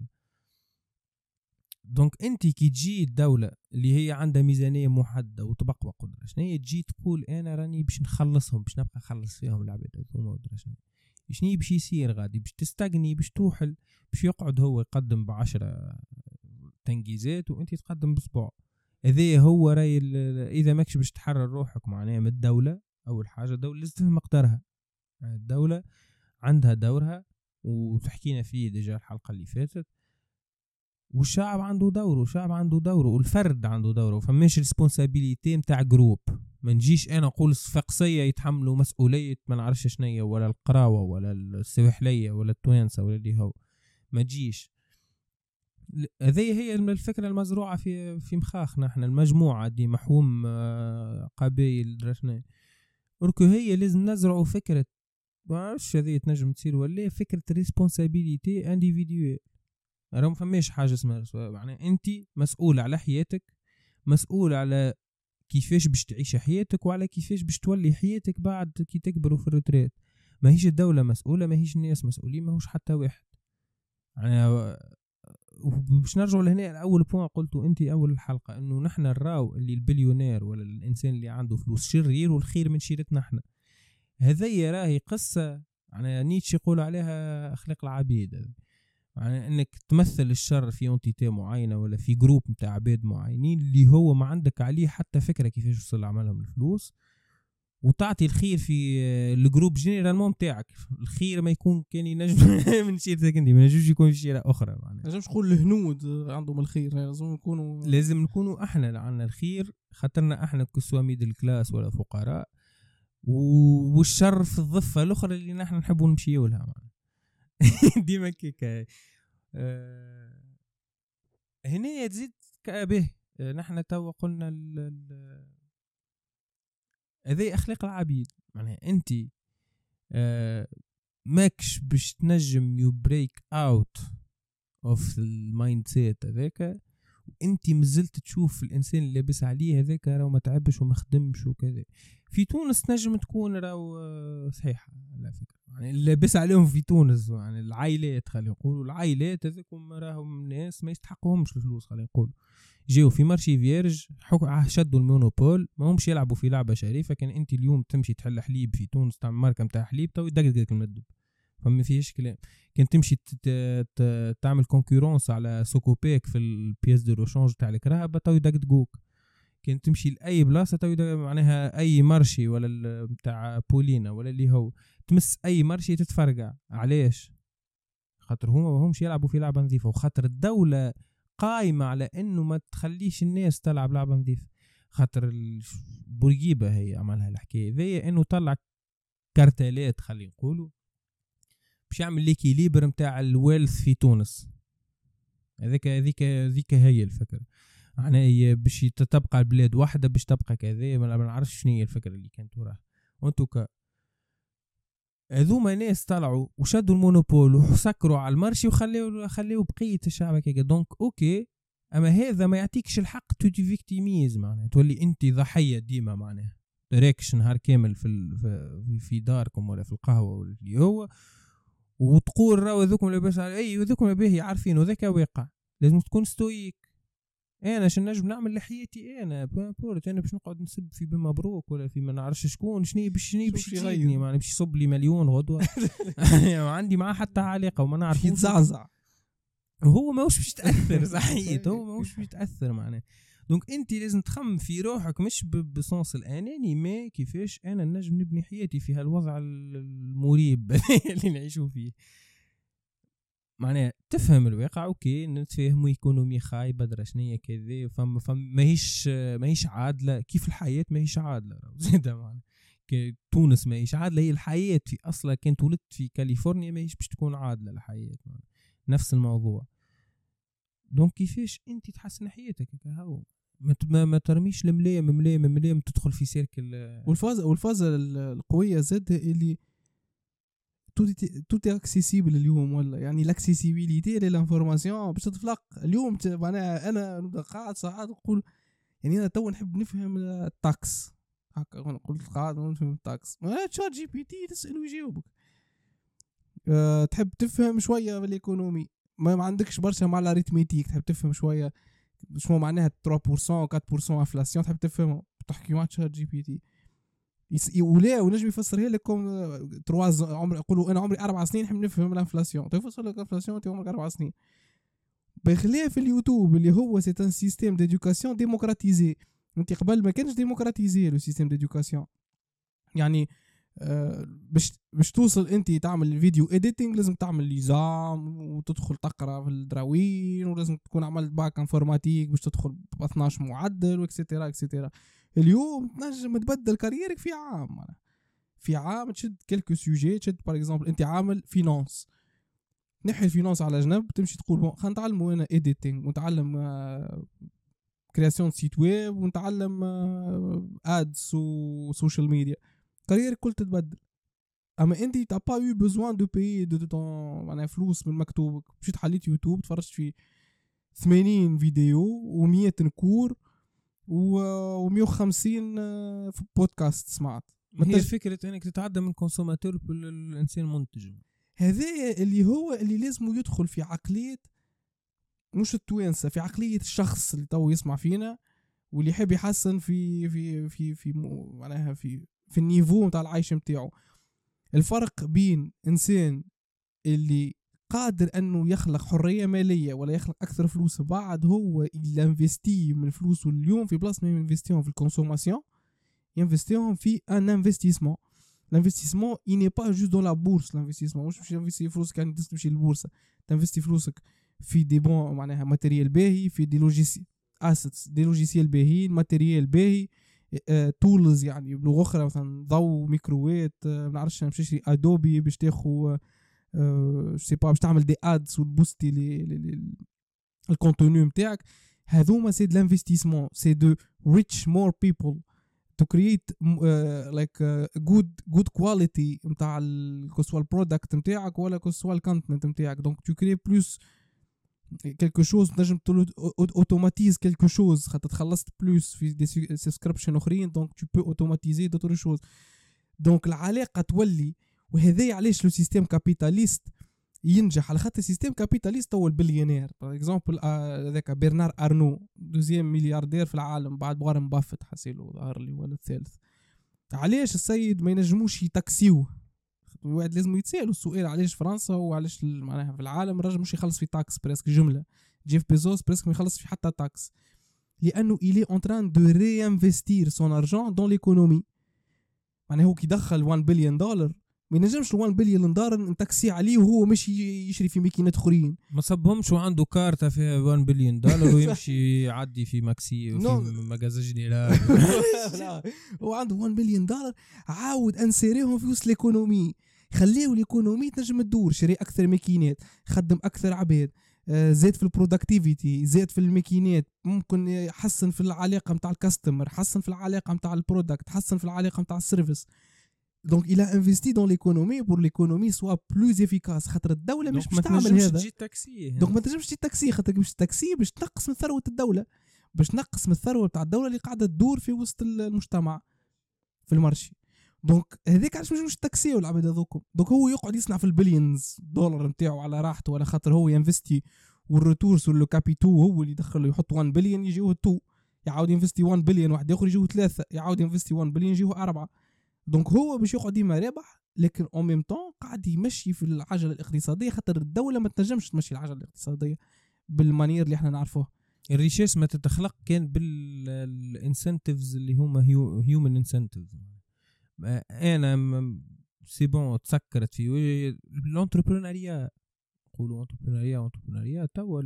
دونك انت كي تجي الدوله اللي هي عندها ميزانيه محدده وتبقى قدره شنو هي، تجي تقول انا راني باش نخلصهم، باش نبقى نخلص فيهم العباد هذوما شنو باش يصير غادي؟ باش تستغني، باش توحل، باش يقعد هو يقدم ب10 تنجيزات وانت تقدم بصبع. هذا هو راي اذا ماكش باش تحرر روحك معناها من الدوله. اول حاجه الدوله لازم تفهم مقدارها، الدوله عندها دورها وتحكينا فيه ديجا الحلقه اللي فاتت، والشعب عنده دوره، والفرد عنده دوره. فماش ريسبونسابيليتي نتاع جروب. ما نجيش انا نقول الصفاقسيه يتحملوا مسؤوليه ما نعرفش شنية، ولا القراوه ولا السواحليه ولا التوانسه ولا اللي هو، ما تجيش. هذه هي الفكره المزروعه في مخاخنا احنا، المجموعه دي محوم قبائل درشنا وركو. هي لازم نزرعوا فكره، ما نعرفش هذه تنجم تصير ولا فكره ريسبونسابيليتي انديفيدوال. راهم فماش حاجه اسمها يعني انت مسؤول على حياتك، مسؤول على كيفاش باش تعيش حياتك وعلى كيفاش باش تولي حياتك بعد كي تكبروا في الريتريت. ما هيش الدوله مسؤوله، ما هيش الناس مسؤولين، ما هوش حتى واحد يعني. باش نرجعوا لهنا الاول بوين قلته انت اول الحلقه، انه نحن الراو اللي البليونير ولا الانسان اللي عنده فلوس شرير والخير من شيرتنا احنا. هذه راهي قصه يعني نيتشه يقول عليها اخلاق العبيد، يعني انك تمثل الشر في انتيتي معينه ولا في جروب نتاع عباد معينين اللي هو ما عندك عليه حتى فكره كيفاش يوصل عملهم الفلوس، وتعطي الخير في الجروب جينيرالمون نتاعك. الخير ما يكون كان ينجم من شيرتك انت، ما ينجمش يكون في شيره اخرى. معناها لازم نقول الهنود عندهم الخير، لازم نكونوا احنا عندنا الخير، خاطرنا احنا كسوا ميدل كلاس ولا فقراء، والشر في الضفه الاخرى اللي نحن نحبوا نمشيو لها. ديما كيكا هنا تزيد كابه. نحن تو قلنا هذه اخلاق العبيد. معناها انت ماكش باش تنجم يو بريك اوت اوف المايند سيت هذاك وانت مازلت تشوف الانسان اللي لابس عليه هذاك راه ما تعبش وما خدمش وكذا. في تونس نجم تكون راهو صحيحه على فكره، يعني اللي لابس عليهم في تونس يعني العائلات، خلينا نقولوا العائلات هذوكم راهم ناس ما يستحقوهمش الفلوس، خلينا نقولوا جاوا في مارشي فيرج شدوا المونوبول، ما همش يلعبوا في لعبه شريفه. كان انت اليوم تمشي تحل حليب في تونس تعمل ماركه نتاع حليب تو يدقدقك المدب، فما فيش كلام. كان تمشي تعمل كونكورونس على سوكوبيك في البياس دو روشانج تاع الكرهبه تو يدقدقوك. كان تمشي لاي بلاصه تو معناها اي مارشي ولا بتاع بولينا ولا اللي هو تمس اي مارشي تتفرقع. علاش؟ خاطر هما ما همش يلعبوا في لعبه نظيفه، وخاطر الدوله قايمه على انه ما تخليش الناس تلعب لعبه نظيفه. خاطر بورقيبه هي عملها الحكايه ذي، انه طلع كارتالات خلينا نقولوا باش يعمل ليكيليبر نتاع الويلث في تونس. هذيك هي الفكره. معناها باش تبقى البلاد واحدة باش تبقى كذا. ما نعرفش شنو هي الفكرة اللي كانت وراها. وانتوكا هذوما ناس طلعوا وشدوا المونوبول وسكروا على المارشي وخليوا بقية الشعب هكاك. دونك اوكي، اما هذا ما يعطيكش الحق تو فيكتيميز، معناها تولي انت ضحية ديما، معناها راكش نهار كامل في داركم ولا في القهوة ولا اللي هو، وتقول راهو ذوكم لاباس على اي وذوكم باهي عارفين وذاك واقع. لازم تكون ستويك. انا شنو نجم نعمل لحياتي انا بورت، انا باش نقعد نسب في بن مبروك ولا في ما نعرفش شكون شنو باش يغيرني، ما باش يصب لي مليون غدوه ما عندي معاه حتى علاقه وما نعرف يتزعزع وهو ماهوش باش يتاثر صحيح، هو ماهوش باش يتاثر معناه. دونك انت لازم تخمم في روحك مش بصنص الاناني، ما كيفاش انا نجم نبني حياتي في هالوضع المريب اللي نعيشوا فيه. معناها تفهم الواقع اوكي، نتفاهموا ايكونومي خايبه درشنيه كذا، ماهيش عادله كيف الحياه ماهيش عادله زيد معناها تونس ماهيش عادله، هي الحياه في اصلا كنت ولدت في كاليفورنيا ماهيش باش تكون عادله الحياه معناها. نفس الموضوع. دونك كيفاش انت تحسن حياتك هكا، ما ترميش الملام تدخل في سيركل. والفازه القويه زاد اللي توتي اكسيسيبل اليوم، ولا يعني لاكسيسيبيليتي للانفورماسيون باش تتفلق اليوم. معناها انا نبدا قاعد ساعات نقول يعني انا تو نحب نفهم التاكس هكا، نقول قاعد نفهم التاكس، تشات جي بي تي تسال ويجاوبك. تحب تفهم شويه بالايكونومي، ما عندكش برشا مع الاريتميتيك، تحب تفهم شويه شنو معناها 3% 4% انفلاسيون، تحب تفهمه تحكي مع تشات جي بي تي ولا ونجم يفسرها لكم 3 عمر. يقولوا انا عمري 4 سنين نحب نفهم الانفلاسيون، تفسر لك الانفلاسيون انت عمرك 4 سنين. بخلاف اليوتوب اللي هو سي ان سيستيم ديدوكاسيون ديموكراتيزي. انت قبل ما كانش ديموكراتيزي لو سيستيم ديدوكاسيون، يعني باش توصل انت تعمل فيديو اديتنج لازم تعمل ليزام وتدخل تقرا في الدراوين، ولازم تكون عملت باك انفورماتيك باش تدخل ب 12 معدل واكسيتيرا اكسيتيرا. اليوم تنجم تبدل كاريرك في عام، في عام تشد كلكو سوجي. تشد باغ اكزومبل انت عامل فينانس، نحي الفينانس على جنب، تمشي تقول بون خلينا نتعلموا انا اديتنج ونتعلم كرياسيون سيت ويب ونتعلم ادز وسوشيال ميديا، كاريرك كل تتبدل. اما انت تا با يو بوزوان دو بيي دو طون معناها فلوس من مكتوبك. مشيت حليت يوتيوب تفرجت في 80 فيديو و100 نكور و150 في بودكاست سمعت. هي فكرة انك تتعدى من كونسوماتور للانسان منتج. هذا اللي هو اللي لازم يدخل في عقلية مش التوانسة، في عقلية الشخص اللي تو يسمع فينا واللي يحب يحسن في معناها في النيفو نتاع العيش نتاعو. الفرق بين انسان اللي قادر انه يخلق حريه ماليه ولا يخلق اكثر فلوس بعد هو اللي انفستي من فلوسه اليوم في بلاصه ما ينفستيهم في الكونسوماسيون، ينفستيهم في ان انفستيسمون. l'investissement il n'est pas juste dans la bourse. l'investissement مش تنفستي فلوسك يعني تمشي للبورصه، تنفستي فلوسك في دي بون معناها ماتيريال باهي، في دي لوجيسيال اسيتس، دي لوجيسيال باهيين، ماتيريال باهي، تولز يعني بلغه اخرى مثلا ضوء ميكروويت، ما نعرفش باش تشري ادوبي باش تاخذ سي با باش تعمل دي ادز وتبوستي الكونتوني نتاعك. هذوما سي دو لانفستيسمون، سي دو ريتش مور بيبل to create like good quality نتاع كسوا البرودكت نتاعك ولا كسوا الكونتنت نتاعك. donc tu crées plus quelque chose، تنجم automatiser quelque chose خاطر تخلصت plus في دي سبسكريبشن اخرين، donc tu peux automatiser d'autres choses. donc العلاقه تولي. وهذا علاش لو سيستيم كابيتاليست ينجح، على خاطر السيستيم كابيتاليست هو البليونير. باغ اكزومبل هذاك برنار ارنو دوزيام ملياردير في العالم بعد وارن بافيت حسيلو ظهر لي ولا الثالث. علاش السيد ما ينجموش يتاكسيوه؟ الواحد لازم يتسالوا السؤال علاش فرنسا وعلاش معناها في العالم الراجل مش يخلص في تاكس بريسك جمله. جيف بيزوس بريسك ما يخلص في حتى تاكس، لانه il est en train de réinvestir son argent dans l'économie. معناها هو كي دخل 1 بليون دولار ما ينجمش 1 بليون دولار نتاكسي عليه وهو مش يشري في ماكينات اخرين. ما صبهمش وعنده كارتة فيها 1 بليون دولار ويمشي يعدي في ماكسي وفي مغازجني. لا هو عنده 1 بليون دولار عاود انسيريهم في وسط الايكونومي، خليه الايكونومي تنجم تدور، شري اكثر ماكينات، خدم اكثر عباد، زاد في البرودكتيفيتي، زاد في الماكينات، ممكن يحسن في العلاقه نتاع الكاستمر، حسن في العلاقه نتاع البرودكت، حسن في العلاقه نتاع السيرفيس. دونك il a investi dans l'économie pour l'économie soit plus efficace. خاطر الدوله مش باش تعمل هذا. دونك ما تنجمش تجي تاكسي، خاطر باش التاكسي باش تنقص من ثروه الدوله، باش تنقص من الثروه تاع الدوله اللي قاعده تدور في وسط المجتمع في المارشي. دونك هذيك علاش مش التاكسي والعباد هذوكم. دونك هو يقعد يصنع في البليونز دولار نتاعو على راحته، ولا خاطر هو ينفستي والريتور سور لو كابيتو هو اللي يدخل له، يحط 1 بليون يجيوه 2، يعاود ينفستي 1 بليون واحد اخر يجيوه 3، يعاود ينفستي 1 بليون يجيوه 4. دونك هو باش يقعد ديما رابح، لكن اون ميم طون قاعد يمشي في العجله الاقتصاديه، خاطر الدوله ما تنجمش تمشي العجله الاقتصاديه بالمانير اللي احنا نعرفوه. الريشيس ما تتخلق كان بالانسنتيفز اللي هما هيومن انسنتيفز. انا سي بون تسكرت في الانتربرونيا، نقولوا انتربرونيا توا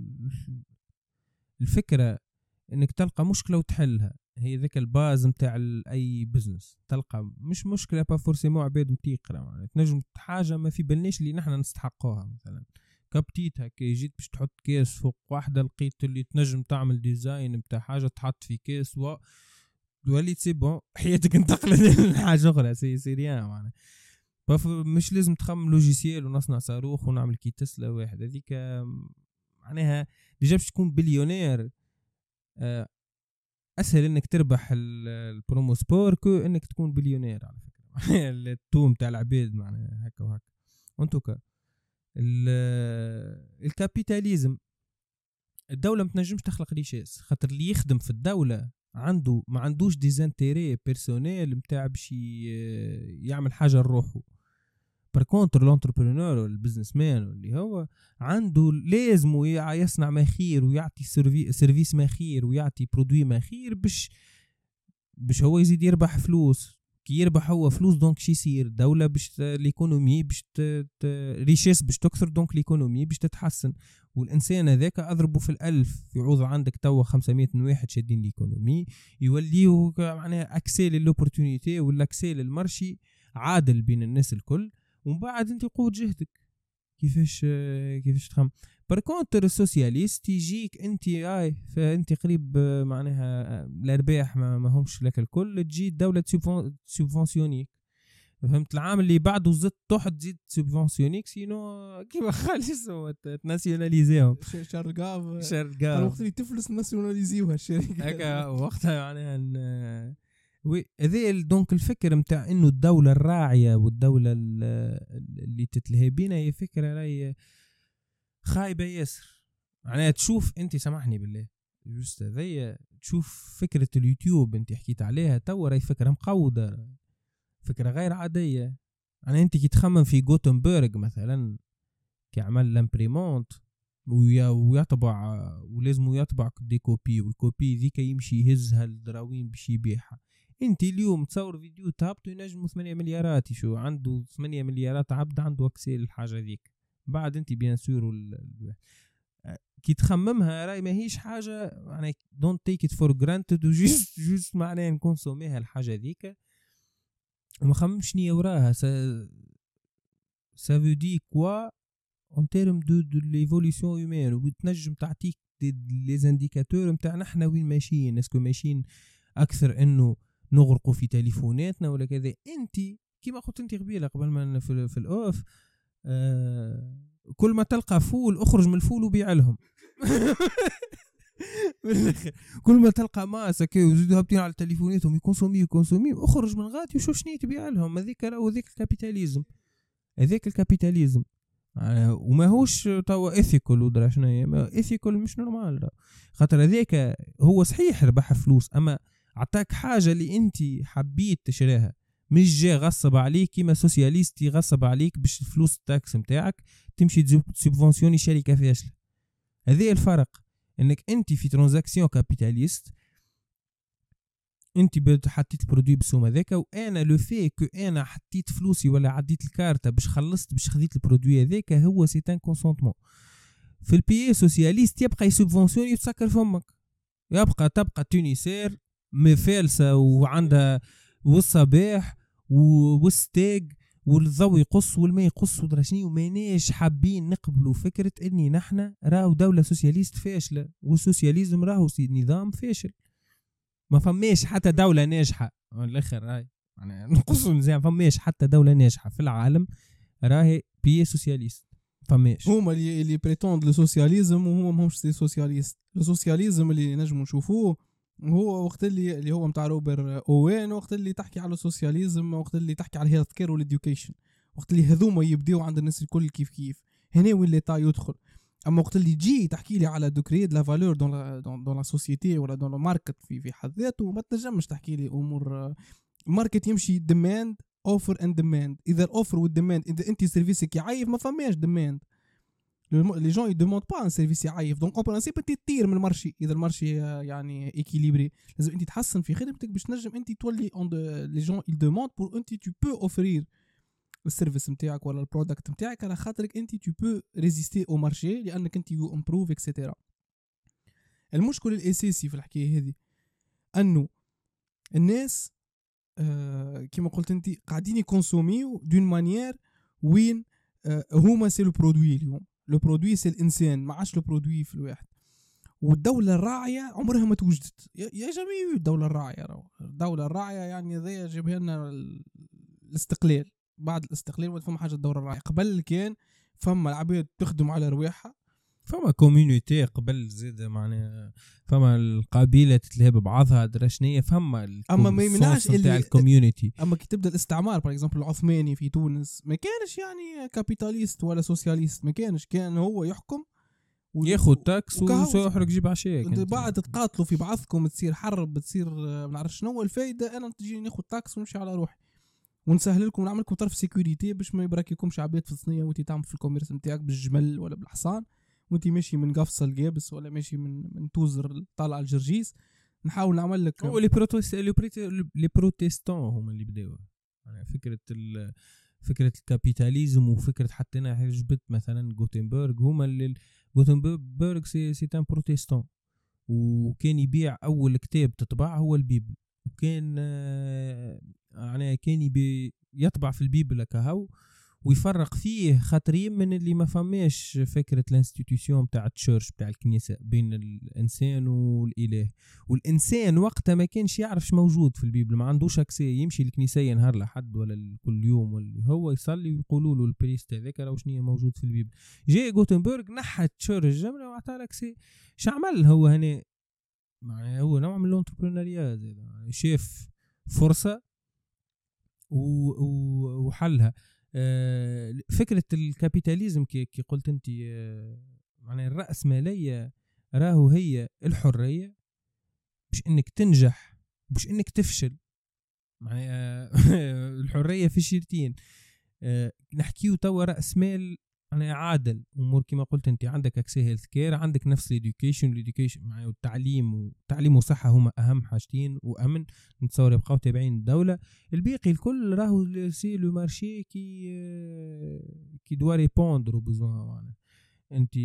الفكره انك تلقى مشكله وتحلها، هي ذاك الباز نتاع اي بزنس. تلقى مش مشكله با فورسيمون عباد متيقره، يعني تنجم حاجه ما في بالناش اللي نحن نستحقوها. مثلا كبتيت هكا جيت باش تحط كاس فوق واحده، لقيت اللي تنجم تعمل ديزاين نتاع حاجه تحط في كاس وليت سي بون حياتك انتقلت لحاجه اخرى. سي ريان معناها. مش لازم تخمم لوجيسيال ونصنع صاروخ ونعمل كي تسلا واحد. هذيك معناها ديجا باش تكون بليونير اسهل انك تربح البرومو سبور كو انك تكون بليونير على فكره. التوم تاع العباد معناها هكا وهكا. انتوكا الكابيتاليزم، الدوله ما تنجمش تخلق ريشيس، خاطر اللي يخدم في الدوله ما عندوش ديزانتيري بيرسونيل نتاع باش يعمل حاجه لروحه. بركونتر لونتربرونور والبزنس مان اللي هو عنده لازم يصنع ما خير ويعطي سيرفيس ما خير ويعطي برودوي ما خير باش هو يزيد يربح فلوس. كي يربح هو فلوس دونك شي يصير دولة باش ليكونومي باش ريشيس باش تكثر، دونك ليكونومي باش تتحسن. والإنسان هذاك أضربه في 1000 يعوض عندك توا 500 واحد شادين ليكونومي، يوليه معناها أكسي للأوبورتونيتي ولا أكسي للمرشي عادل بين الناس الكل. ومن بعد انت قوة جهدك كيفاش تخم. بركونتر السوسياليست يجيك انت فانت قريب معناها الارباح ما همش لك الكل، تجي الدولة سوبفونسيونيك. فهمت؟ العام اللي بعده زدت تحت تزيد سوبفونسيونيك، سينو كيما خالص تناسيوناليزيهم. شرقاف وقت اللي تفلس ناسيوناليزيوها الشركة هكا وقتها معناها وي. هذا دونك الفكر متاع انه الدولة الراعية والدولة اللي تتلهي بينا هي فكرة راهي خايبة ياسر. معناها تشوف انت سامحني بالله جوست هذيا، تشوف فكرة اليوتيوب انت حكيت عليها توا راهي فكرة مقودة، فكرة غير عادية. يعني انت كي تخمم في غوتنبرغ مثلا كي عمل لامبريمونت ويطبع ولازم يطبع دي كوبي، والكوبي ذيك يمشي يهزها الدراوين باش يبيعها. انت اليوم تصور فيديو تهبطو ينجمو 8 مليارات، شو عنده 8 مليارات عبد عنده اكسيل الحاجة ذيك. بعد انت بيان سور كي تخممها راي ما هيش حاجة يعني don't take it for granted وجيست معناه نكونسوميها الحاجة ذيك وما خممش نية وراها. ça veut dire quoi en termes de l'évolution humaine، وتنجم تعطيك les indicateurs متاع نحنا وين ماشيين. اسكو ماشيين اكثر انه نغرقوا في تليفوناتنا ولا كذا؟ انت كيما قلت انت قبيله قبل ما في الاوف كل ما تلقى فول اخرج من الفول وبيع لهم. كل ما تلقى ماسه كي وزيدوا هابطين على تليفوناتهم يكونسومي اخرج من غادي وشوف شنو تبيع لهم. هذيك هذاك الكابيتاليزم وما هوش توا ايثيكال ودرا شنو هي ايثيكال مش نورمال. خاطر هذاك هو صحيح ربح فلوس اما عطاك حاجه اللي انت حبيت تشريها، مش جا غصب عليك كيما سوسياليست يغصب عليك باش الفلوس التاكس نتاعك تمشي تسبونسيوني شركه فاشله. هذا الفرق، انك انت في ترانزاكسيون كابيتاليست انت حطيت البرودوي بالسوم هذاك، وانا لو في كو انا حطيت فلوسي ولا عديت الكارته باش خلصت باش خديت البرودوي هذاك هو سي ان كونسونتمون. في البي سوسياليست يبقى يسبونسيوني وتسكر فمك، تبقى تونسير مفالسه وعندها والصباح والستيق والضوء يقص والماء يقص ودرشني، وماناش حابين نقبلوا فكرة اني نحن راهو دولة سوسياليست فاشلة، والسوسياليزم راهو نظام فاشل. ما فماش حتى دولة ناجحة الاخر هاي يعني نقصوا مزيان، فماش حتى دولة ناجحة في العالم راهي بي سوسياليست. فماش هما اللي بريتوند السوسياليزم وهما ماهمش سوسياليست. السوسياليزم اللي نجموا نشوفوه هو وقت اللي هو متاع روبر اوين، وقت اللي تحكي على السوسياليزم، وقت اللي تحكي على الهيلث كير والإديوكيشن، وقت اللي هذوما يبديو عند الناس الكل كيف كيف، هنا وين ليتا يدخل. اما وقت اللي تجي تحكي لي على دوكري لا فالور دون لا سوسيتي ولا دون الماركت في حد ذاته، ما تنجمش تحكي لي امور. الماركت يمشي ديماند اوفر اند ديماند. اذا الاوفر والديماند، اذا انت سيرفيسك يعيف ما فماش ديماند. لي جون يدوموند با ان سيرفيس يعيف، دونك اون برانسيب انت تطير من المارشي. اذا المارشي يعني ايكيليبري لازم انت تحسن في خدمتك باش تنجم انت تولي اون لي جون يدوموند بور انت تو بو اوفرير السيرفيس نتاعك ولا البرودكت نتاعك، على خاطرك انت تو بو ريزيستي او مارشي لانك انت يو امبروف اكسيتيرا. المشكل الاساسي في الحكايه هذه انه الناس كما قلت انت قاعدين يكونسوميو دون مانيير وين هما سي لو برودوي. اليوم لو برودوي سي الانسان، ما عادش لو برودوي في الواحد. والدوله الراعيه عمرها ما توجدت يا جميع. الدوله الراعيه يعني ذي جابها لنا الاستقلال. بعد الاستقلال ولا فما حاجه الدوله الراعيه. قبل كان فما العباد تخدم على رواحها، فما كوميونيتي قبل زيد معناها، فما القبيله تتلهب بعضها درشنيه، فما اما ما يمنعش اللي الكوميونيتي. اما كي تبدا الاستعمار باغ اكزومبل العثماني في تونس ما كانش يعني كابيتاليست ولا سوسياليست، ما كانش، كان هو يحكم ياخذ تاكس ويحرق جيب عشاء. بعد تتقاتلوا في بعضكم، تصير حرب، تصير ما نعرف شنو الفايده. انا تجي ناخذ تاكس ونمشي على روحي ونسهل لكم ونعمل لكم طرف سيكوريتي باش ما يبركيكمش عباد في الصينيه وانت تعمل في الكوميرس نتاعك بالجمل ولا بالحصان، وانت ماشي من قفصه القابس ولا ماشي من توزر طالع الجرجيس. نحاول نعمل لك هو لي بروتستان هم اللي بداوا يعني فكره الكابيتاليزم، وفكره حتى انا جبت مثلا غوتنبرغ. هما اللي غوتنبرغ سي ان بروتستان، وكان يبيع اول كتاب تطبع هو البيبل، وكان يعني كان يطبع في البيبل كهو ويفرق فيه خاطرين من اللي ما فماش فكرة الانستيتيوشن بتاع التشيرش بتاع الكنيسة بين الإنسان والإله. والإنسان وقتها ما كانش يعرفش موجود في البيبل، ما عندوش أكسي يمشي الكنيسة نهار لحد ولا كل يوم، واللي هو يصلي ويقولوا له البريست هذاك راه شنو موجود في البيبل. جاء غوتنبرغ نحى التشيرش الجملة وعطاه لكسي. شعمل هو هنا يعني هو نوع من الانتربرونيريا، شاف فرصة وحلها. فكرة الكابيتاليزم كي قلت انت، معنى الرأسمالية راهو هي الحرية مش انك تنجح مش انك تفشل. معنى الحرية في شيرتين. نحكيو توا رأسمال يعني عادل امور كما قلت انت، عندك اكسي هيلث كير، عندك نفس الاديوكيشن معناها والتعليم وصحه هما اهم حاجتين، وامن نتصور يبقاو تابعين الدوله. الباقي الكل راهو سي لو مارشي كي دوا ريبوندر بوزوان. معناها انت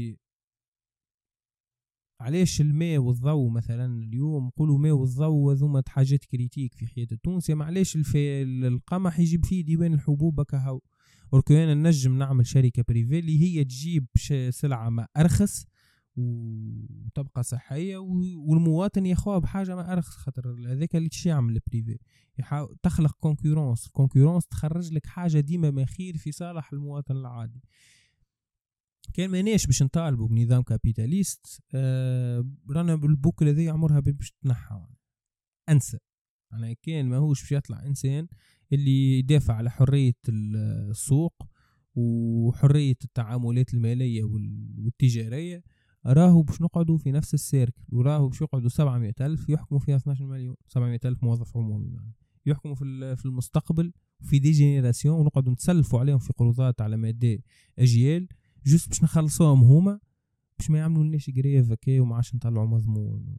علاش الماء والضوء مثلا اليوم نقولوا ماء والضوء هذوما حاجات كريتيك في حياة التونسي، معليش القمح يجيب فيه ديوان الحبوب كهو. وركونا نجم نعمل شركة بريفي اللي هي تجيب سلعة ما أرخص وتبقى صحية، والمواطن يخوها بحاجة ما أرخص، خاطر هذاك اللي تشي يعمل البريفي تخلق كونكورونس تخرج لك حاجة ديما ما خير في صالح المواطن العادي. كان ماناش باش نطالبوا بنظام كابيتاليست، رانا بالبوكلة ذي عمرها باش تنحى. أنسى أنا كان ماهوش باش يطلع إنسان اللي يدافع على حرية السوق وحرية التعاملات المالية والتجارية، راهو باش نقعدوا في نفس السيركل، وراهو باش يقعدوا 700,000 يحكموا فيها 12 مليون، 700,000 موظف عمومي يعني يحكموا في المستقبل في دي جينيراسيون، ونقعدوا نتسلفوا عليهم في قروضات على مدى أجيال جست باش نخلصوهم هما باش ما يعملوا لناش قرية فكاية وما عادش نطلعوا مضمون.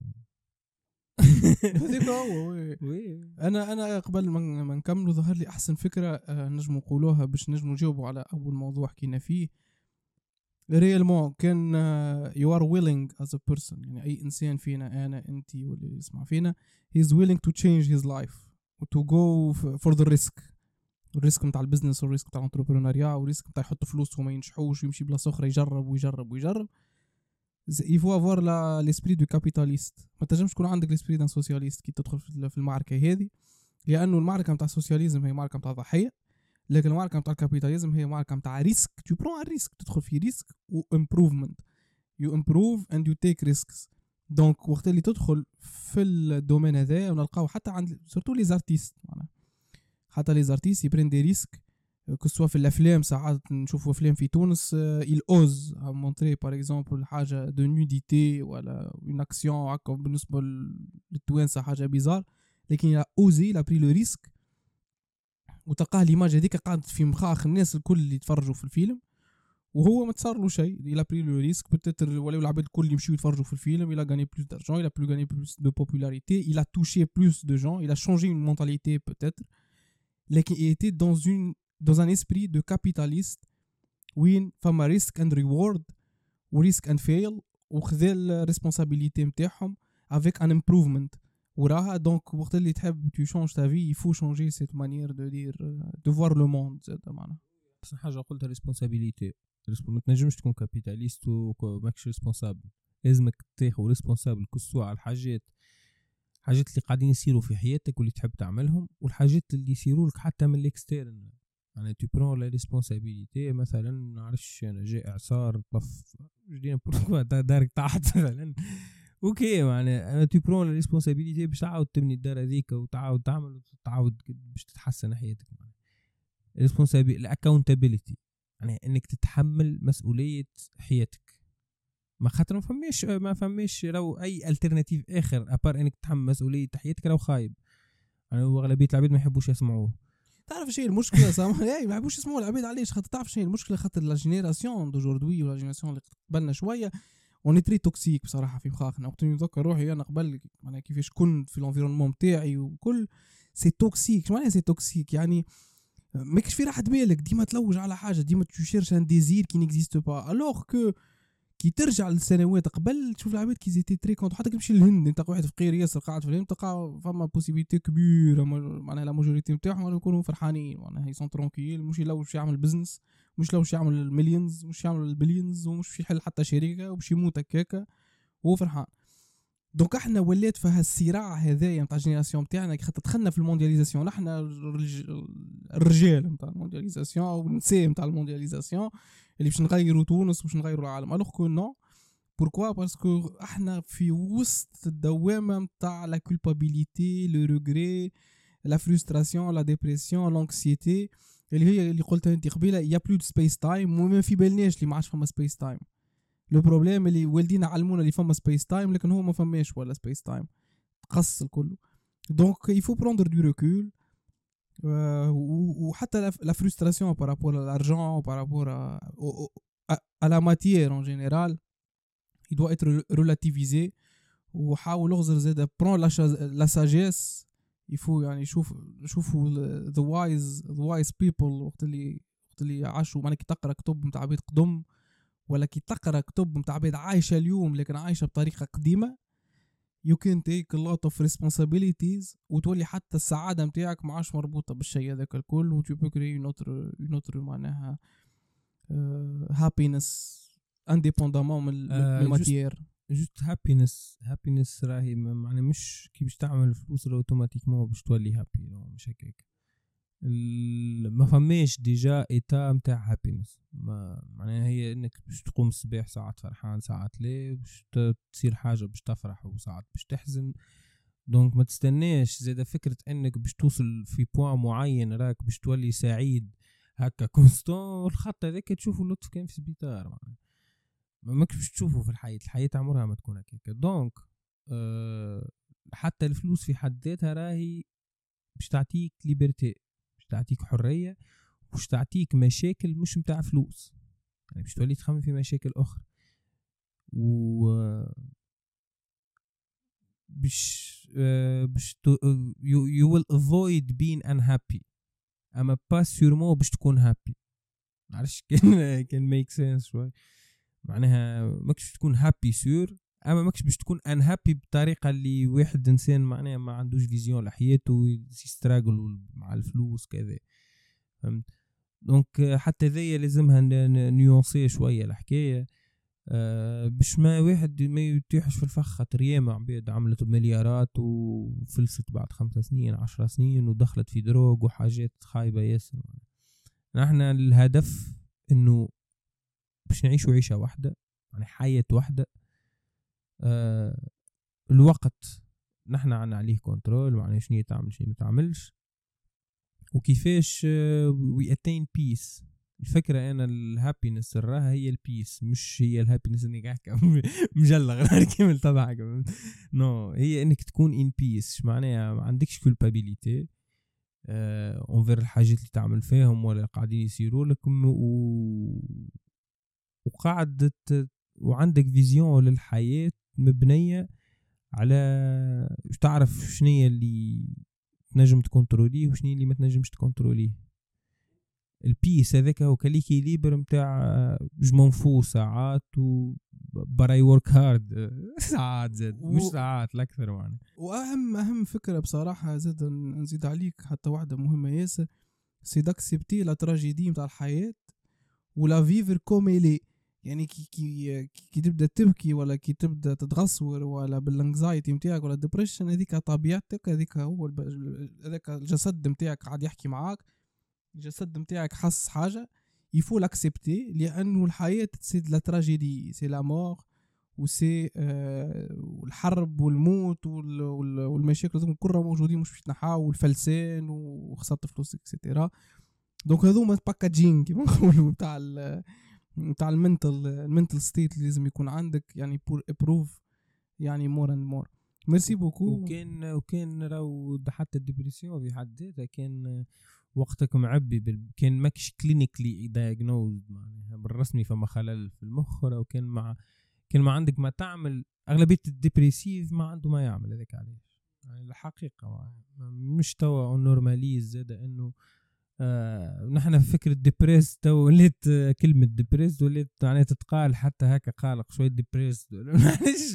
هذيك هو انا قبل ما نكملوا ظهر لي احسن فكره نجموا نقولوها باش نجموا نجاوبوا على اول موضوع حكينا فيه. ريالمون كان you are willing as a person، يعني اي انسان فينا انا انت واللي يسمع فينا he is willing to change his life to go for the risk الريسك نتاع البزنس والريسك نتاع الانتربرونيا والريسك نتاع يحط فلوس وما ينجحوش ويمشي بلاصه اخرى يجرب ويجرب ويجرب. يفو افوار لاسبري دو كابيتاليست. ما تنجمش تكون عندك لاسبري دان سوسياليست كي تدخل في المعركه هذه، لانه المعركه نتاع السوسياليزم هي معركه نتاع ضحيه، لكن المعركه نتاع الكابيتاليزم هي معركه نتاع ريسك. تو برون ريسك، تدخل في ريسك وامبروفمنت. يو امبروف اند يو تيك ريسكس. دونك وقت اللي تدخل في الدومين هذا ونلقاو حتى عند سورتو لي زارتيست، معناها حتى لي زارتيست يبرين دي ريسك. كسوا في الافلام ساعات نشوفوا افلام في تونس il ose à montrer par exemple حاجه دو نوديتي ولا اون اكسيون هكا بالنسبه للتوانسه حاجه بيزار، لكن il a osé il a pris le risque وتلقاه ليماج هذيك قاعد في مخاخ الناس الكل اللي يتفرجوا في الفيلم، وهو ما تصار له شيء. il a pris le risque peut-être ولاو العباد الكل يمشيو يتفرجوا في الفيلم. il a gagné plus d'argent, il a plus gagné plus de popularité, il a touché plus de gens, il a changé une mentalité peut-être, لكن il était dans un esprit de capitaliste وين فما ريسك اند ريورد وريسك اند فيل، وخذا الريسبونسابيلتي نتاعهم avec un improvement وراها. دونك وقت اللي تحب tu changes ta vie il faut changer cette manière de dire de voir le monde. زاد معناها احسن حاجه قلتها ريسبونسابيلتي. ما تنجمش تكون كابيتاليست وماكش ريسبونسابل، لازمك تاخذ ريسبونسابل كسوا على الحاجات اللي قاعدين يصيروا في حياتك واللي تحب تعملهم، والحاجات اللي يصيروا لك حتى من الاكسترن. يعني tu prends la responsabilité. مثلا نعرفش انا جاء اعصار طف جدينا بوركوا دارك تحت مثلا اوكي، يعني tu prends la responsabilité باش تعاود تبني الدار هذيك وتعاود تعمل وتعاود باش تتحسن حياتك. الاكاونتابيلتي يعني انك تتحمل مسؤوليه حياتك. ما خاطر ما فماش لو اي الترناتيف اخر ابار انك تتحمل مسؤوليه حياتك لو خايب. يعني اغلبيه العباد ما يحبوش يسمعوه. تعرف شيء المشكله صراحه ما يحبوش يسمعوا العباد علاش؟ خاطر تعرف شيء المشكله، خاطر لا جينيراسيون دوجوردي ولا جينيراسيون اللي قبلنا شويه اون تري توكسيك بصراحه في مخاخنا. وقت نتذكر روحي انا قبل معناها كيفاش كنت في الانفيرونمون تاعي وكل سي توكسيك. شو معناها سي توكسيك؟ يعني ماكش في راحه بالك، ديما تلوج على حاجه، ديما تشيرش ان ديزير كي نيكزيست با. الوغ كو كي ترجع للسنوات قبل تشوف العباد كي زيتي تري كونت. حتى كي تمشي للهند انت واحد فقير ياسر قاعد في الهند تلقى فما بوسيبيليتي كبيره معناها لا ماجوريتي نتاعهم يكونوا فرحانين، معناها هي سون ترونكيل، مش لو باش يعمل بزنس، مش لو باش يعمل المليونز، مش يعمل البليونز، ومش في حل حتى شركه وباش يموت هكاكا وهو فرحان. دونك احنا ولات في هالصراع هذايا نتاع الجينيراسيون نتاعنا خاطر دخلنا في الموندياليزاسيون. احنا الرجال نتاع الموندياليزاسيون والنساء نتاع الموندياليزاسيون اللي باش نغيروا تونس وباش نغيروا العالم. الوغ كو نو. بوركوا؟ باسكو احنا في وسط الدوامه نتاع لا كولبابيليتي، لو ريغري، لا فرستراسيون، لا ديبرسيون، لانكسيتي، اللي هي اللي قلتها انت قبيله. يا بلو دو سبيس تايم، وما في بالناش اللي ما عادش فما سبيس تايم. لو بروبليم اللي والدينا علمونا اللي فما سبيس تايم، لكن هو ما فماش ولا سبيس تايم، تقص الكل. دونك يفو بروندر دو ريكول. وحتى لا فرستراسيون بارابور à l'argent, par rapport à la matière en général, il doit être relativisé. وحاول اغزر زاد برون لا ساجيس. يفو يعني شوفوا the wise people وقت اللي عاشوا. معناها كي تقرا كتب نتاع عباد قدم ولا كي تقرا كتب نتاع عباد عايشه اليوم لكن عايشه بطريقه قديمه، you can take a lot of responsibilities وتولي حتى السعادة متاعك معاش مربوطة بالشيء هذاك الكل. و tu peux créer une autre معناها happiness indépendamment من الماتير. جوست هابينس راهي معناها مش كي باش تعمل فلوس اوتوماتيكمون باش تولي هابي، مش هكاك. ما فماش ديجا ايتا نتاع هابينس. معناها هي انك باش تقوم الصباح ساعات فرحان ساعات لا، باش تصير حاجه باش تفرح وساعات باش تحزن. دونك ما تستناش زيدا فكره انك باش توصل في بوان معين راك باش تولي سعيد هكا كونستون. الخط هذاك تشوفه لطف كان في سبيطار، معناها ماكش باش تشوفه في الحياه عمرها ما تكون هكاك. دونك حتى الفلوس في حد ذاتها راهي باش تعطيك ليبرتي، تعطيك حرية، وش تعطيك مشاكل مش متاع فلوس. يعني باش تولي تخمم في مشاكل أخرى و باش you will avoid being unhappy. أما pas sûrement باش تكون happy. معرفش كان make sense شوي. معناها ماكش تكون happy سور، أما ماكش باش تكون unhappy بطريقة اللي واحد إنسان معناها ما عندوش فيزيون لحياته يستراجل مع الفلوس كذا. فهمت. دونك حتى ذي لازمها نيونسي شويه الحكايه، باش ما واحد ما يتيحش في الفخ. خاطر ياما عباد عملت بمليارات وفلست بعد 5 سنين 10 سنين ودخلت في دروغ وحاجات خايبه ياسر. نحن الهدف انه باش نعيشوا عيشه واحده، يعني حياه واحده. الوقت نحن عنا عليه كنترول، معناها شنو تعمل شنو ما تعملش وكيفاش وي اتين بيس. الفكرة أنا الهابينس راها هي البيس، مش هي الهابينس إنك أحكي مجلغ كامل تضحك. نو هي إنك تكون إن بيس، معناها ما عندكش كولبابيليتي أنفر الحاجات اللي تعمل فيهم ولا قاعدين يصيروا لكم، وقاعد وعندك فيزيون للحياة مبنية على تعرف شنية اللي تنجم تكنتروليه وشنية اللي ما تنجمش تكنتروليه. البيس هذاك هو كليكي ليبر متاع جمنفو ساعات براي ورك هارد ساعات زاد مش ساعات الأكثر يعني. وأهم فكرة بصراحة زاد نزيد عليك حتى واحدة مهمة ياسر، سي داكسبتي لا تراجيدي متاع الحياة ولا فيفر كوميلي. يعني كي تبدا تبكي ولا كي تبدا تتغصور ولا بالانكزايتي نتاعك ولا ديبريشن، هذيك طبيعتك، هذيك هو هذاك الجسد نتاعك قاعد يحكي معاك، الجسد نتاعك حس حاجه يفو لاكسبتي، لانه الحياه سي لا تراجيدي، سي لا مور وسي الحرب والموت والمشاكل كلها موجودين، مش باش تنحاو، والفلسان وخسرت فلوس اكسيتيرا. دونك هذوما باكاجينغ كيما نقولوا تاع المنتل ستيت اللي لازم يكون عندك، يعني بور ابروف يعني مور اند مور. ميرسي بوكو. وكان راهو حتى الديبرسيون في حد ذاتها كان وقتك معبي كان ماكش كلينيكلي دايغنوزد معناها بالرسمي فما خلل في المخ، او كان ما عندك ما تعمل. اغلبيه الديبريسيف ما عنده ما يعمل هذاك علاش، يعني الحقيقه مش توا نورماليز زاد انه نحن في فكرة ديبريس تو وليت كلمة ديبريس وليت يعني تتقال حتى هكا قالق شوية ديبريس معلش.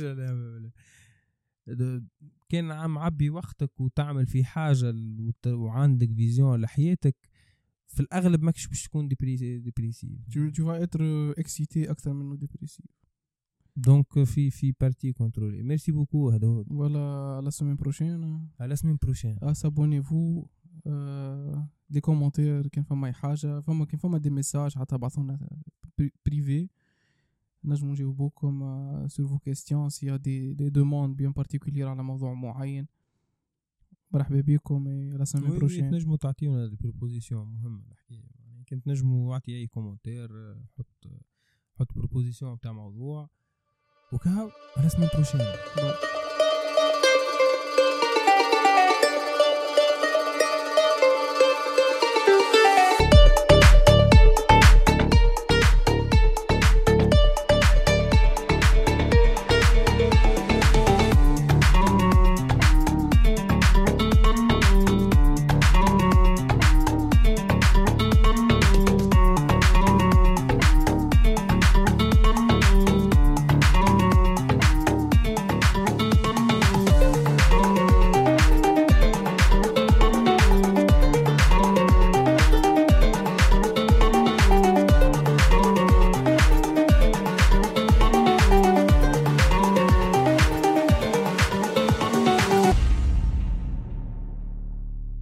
كان عم عبي وقتك وتعمل في حاجة وعندك فيزيون لحياتك، في الأغلب ماكش باش تكون ديبريسيف. tu vas être excité أكثر منه ديبريسيف. دونك في بارتي كنترولي. ميرسي بوكو. هذا voilà la semaine prochaine abonnez-vous دي كومنتير كان فما اي حاجه، كان فما دي ميساج حتى بعثونا بريفي نجمو نجاوبوكم sur vos questions s'il y a des demandes bien particulières على موضوع معين. مرحبا بكم لا سيمين بروشين. نجمو تعطيونا دي بروبوزيسيون مهمه الحكايه، يعني كنت نجمو اعطي اي كومنتير، حط بروبوزيسيون تاع موضوع وكهو. لا سيمين بروشين.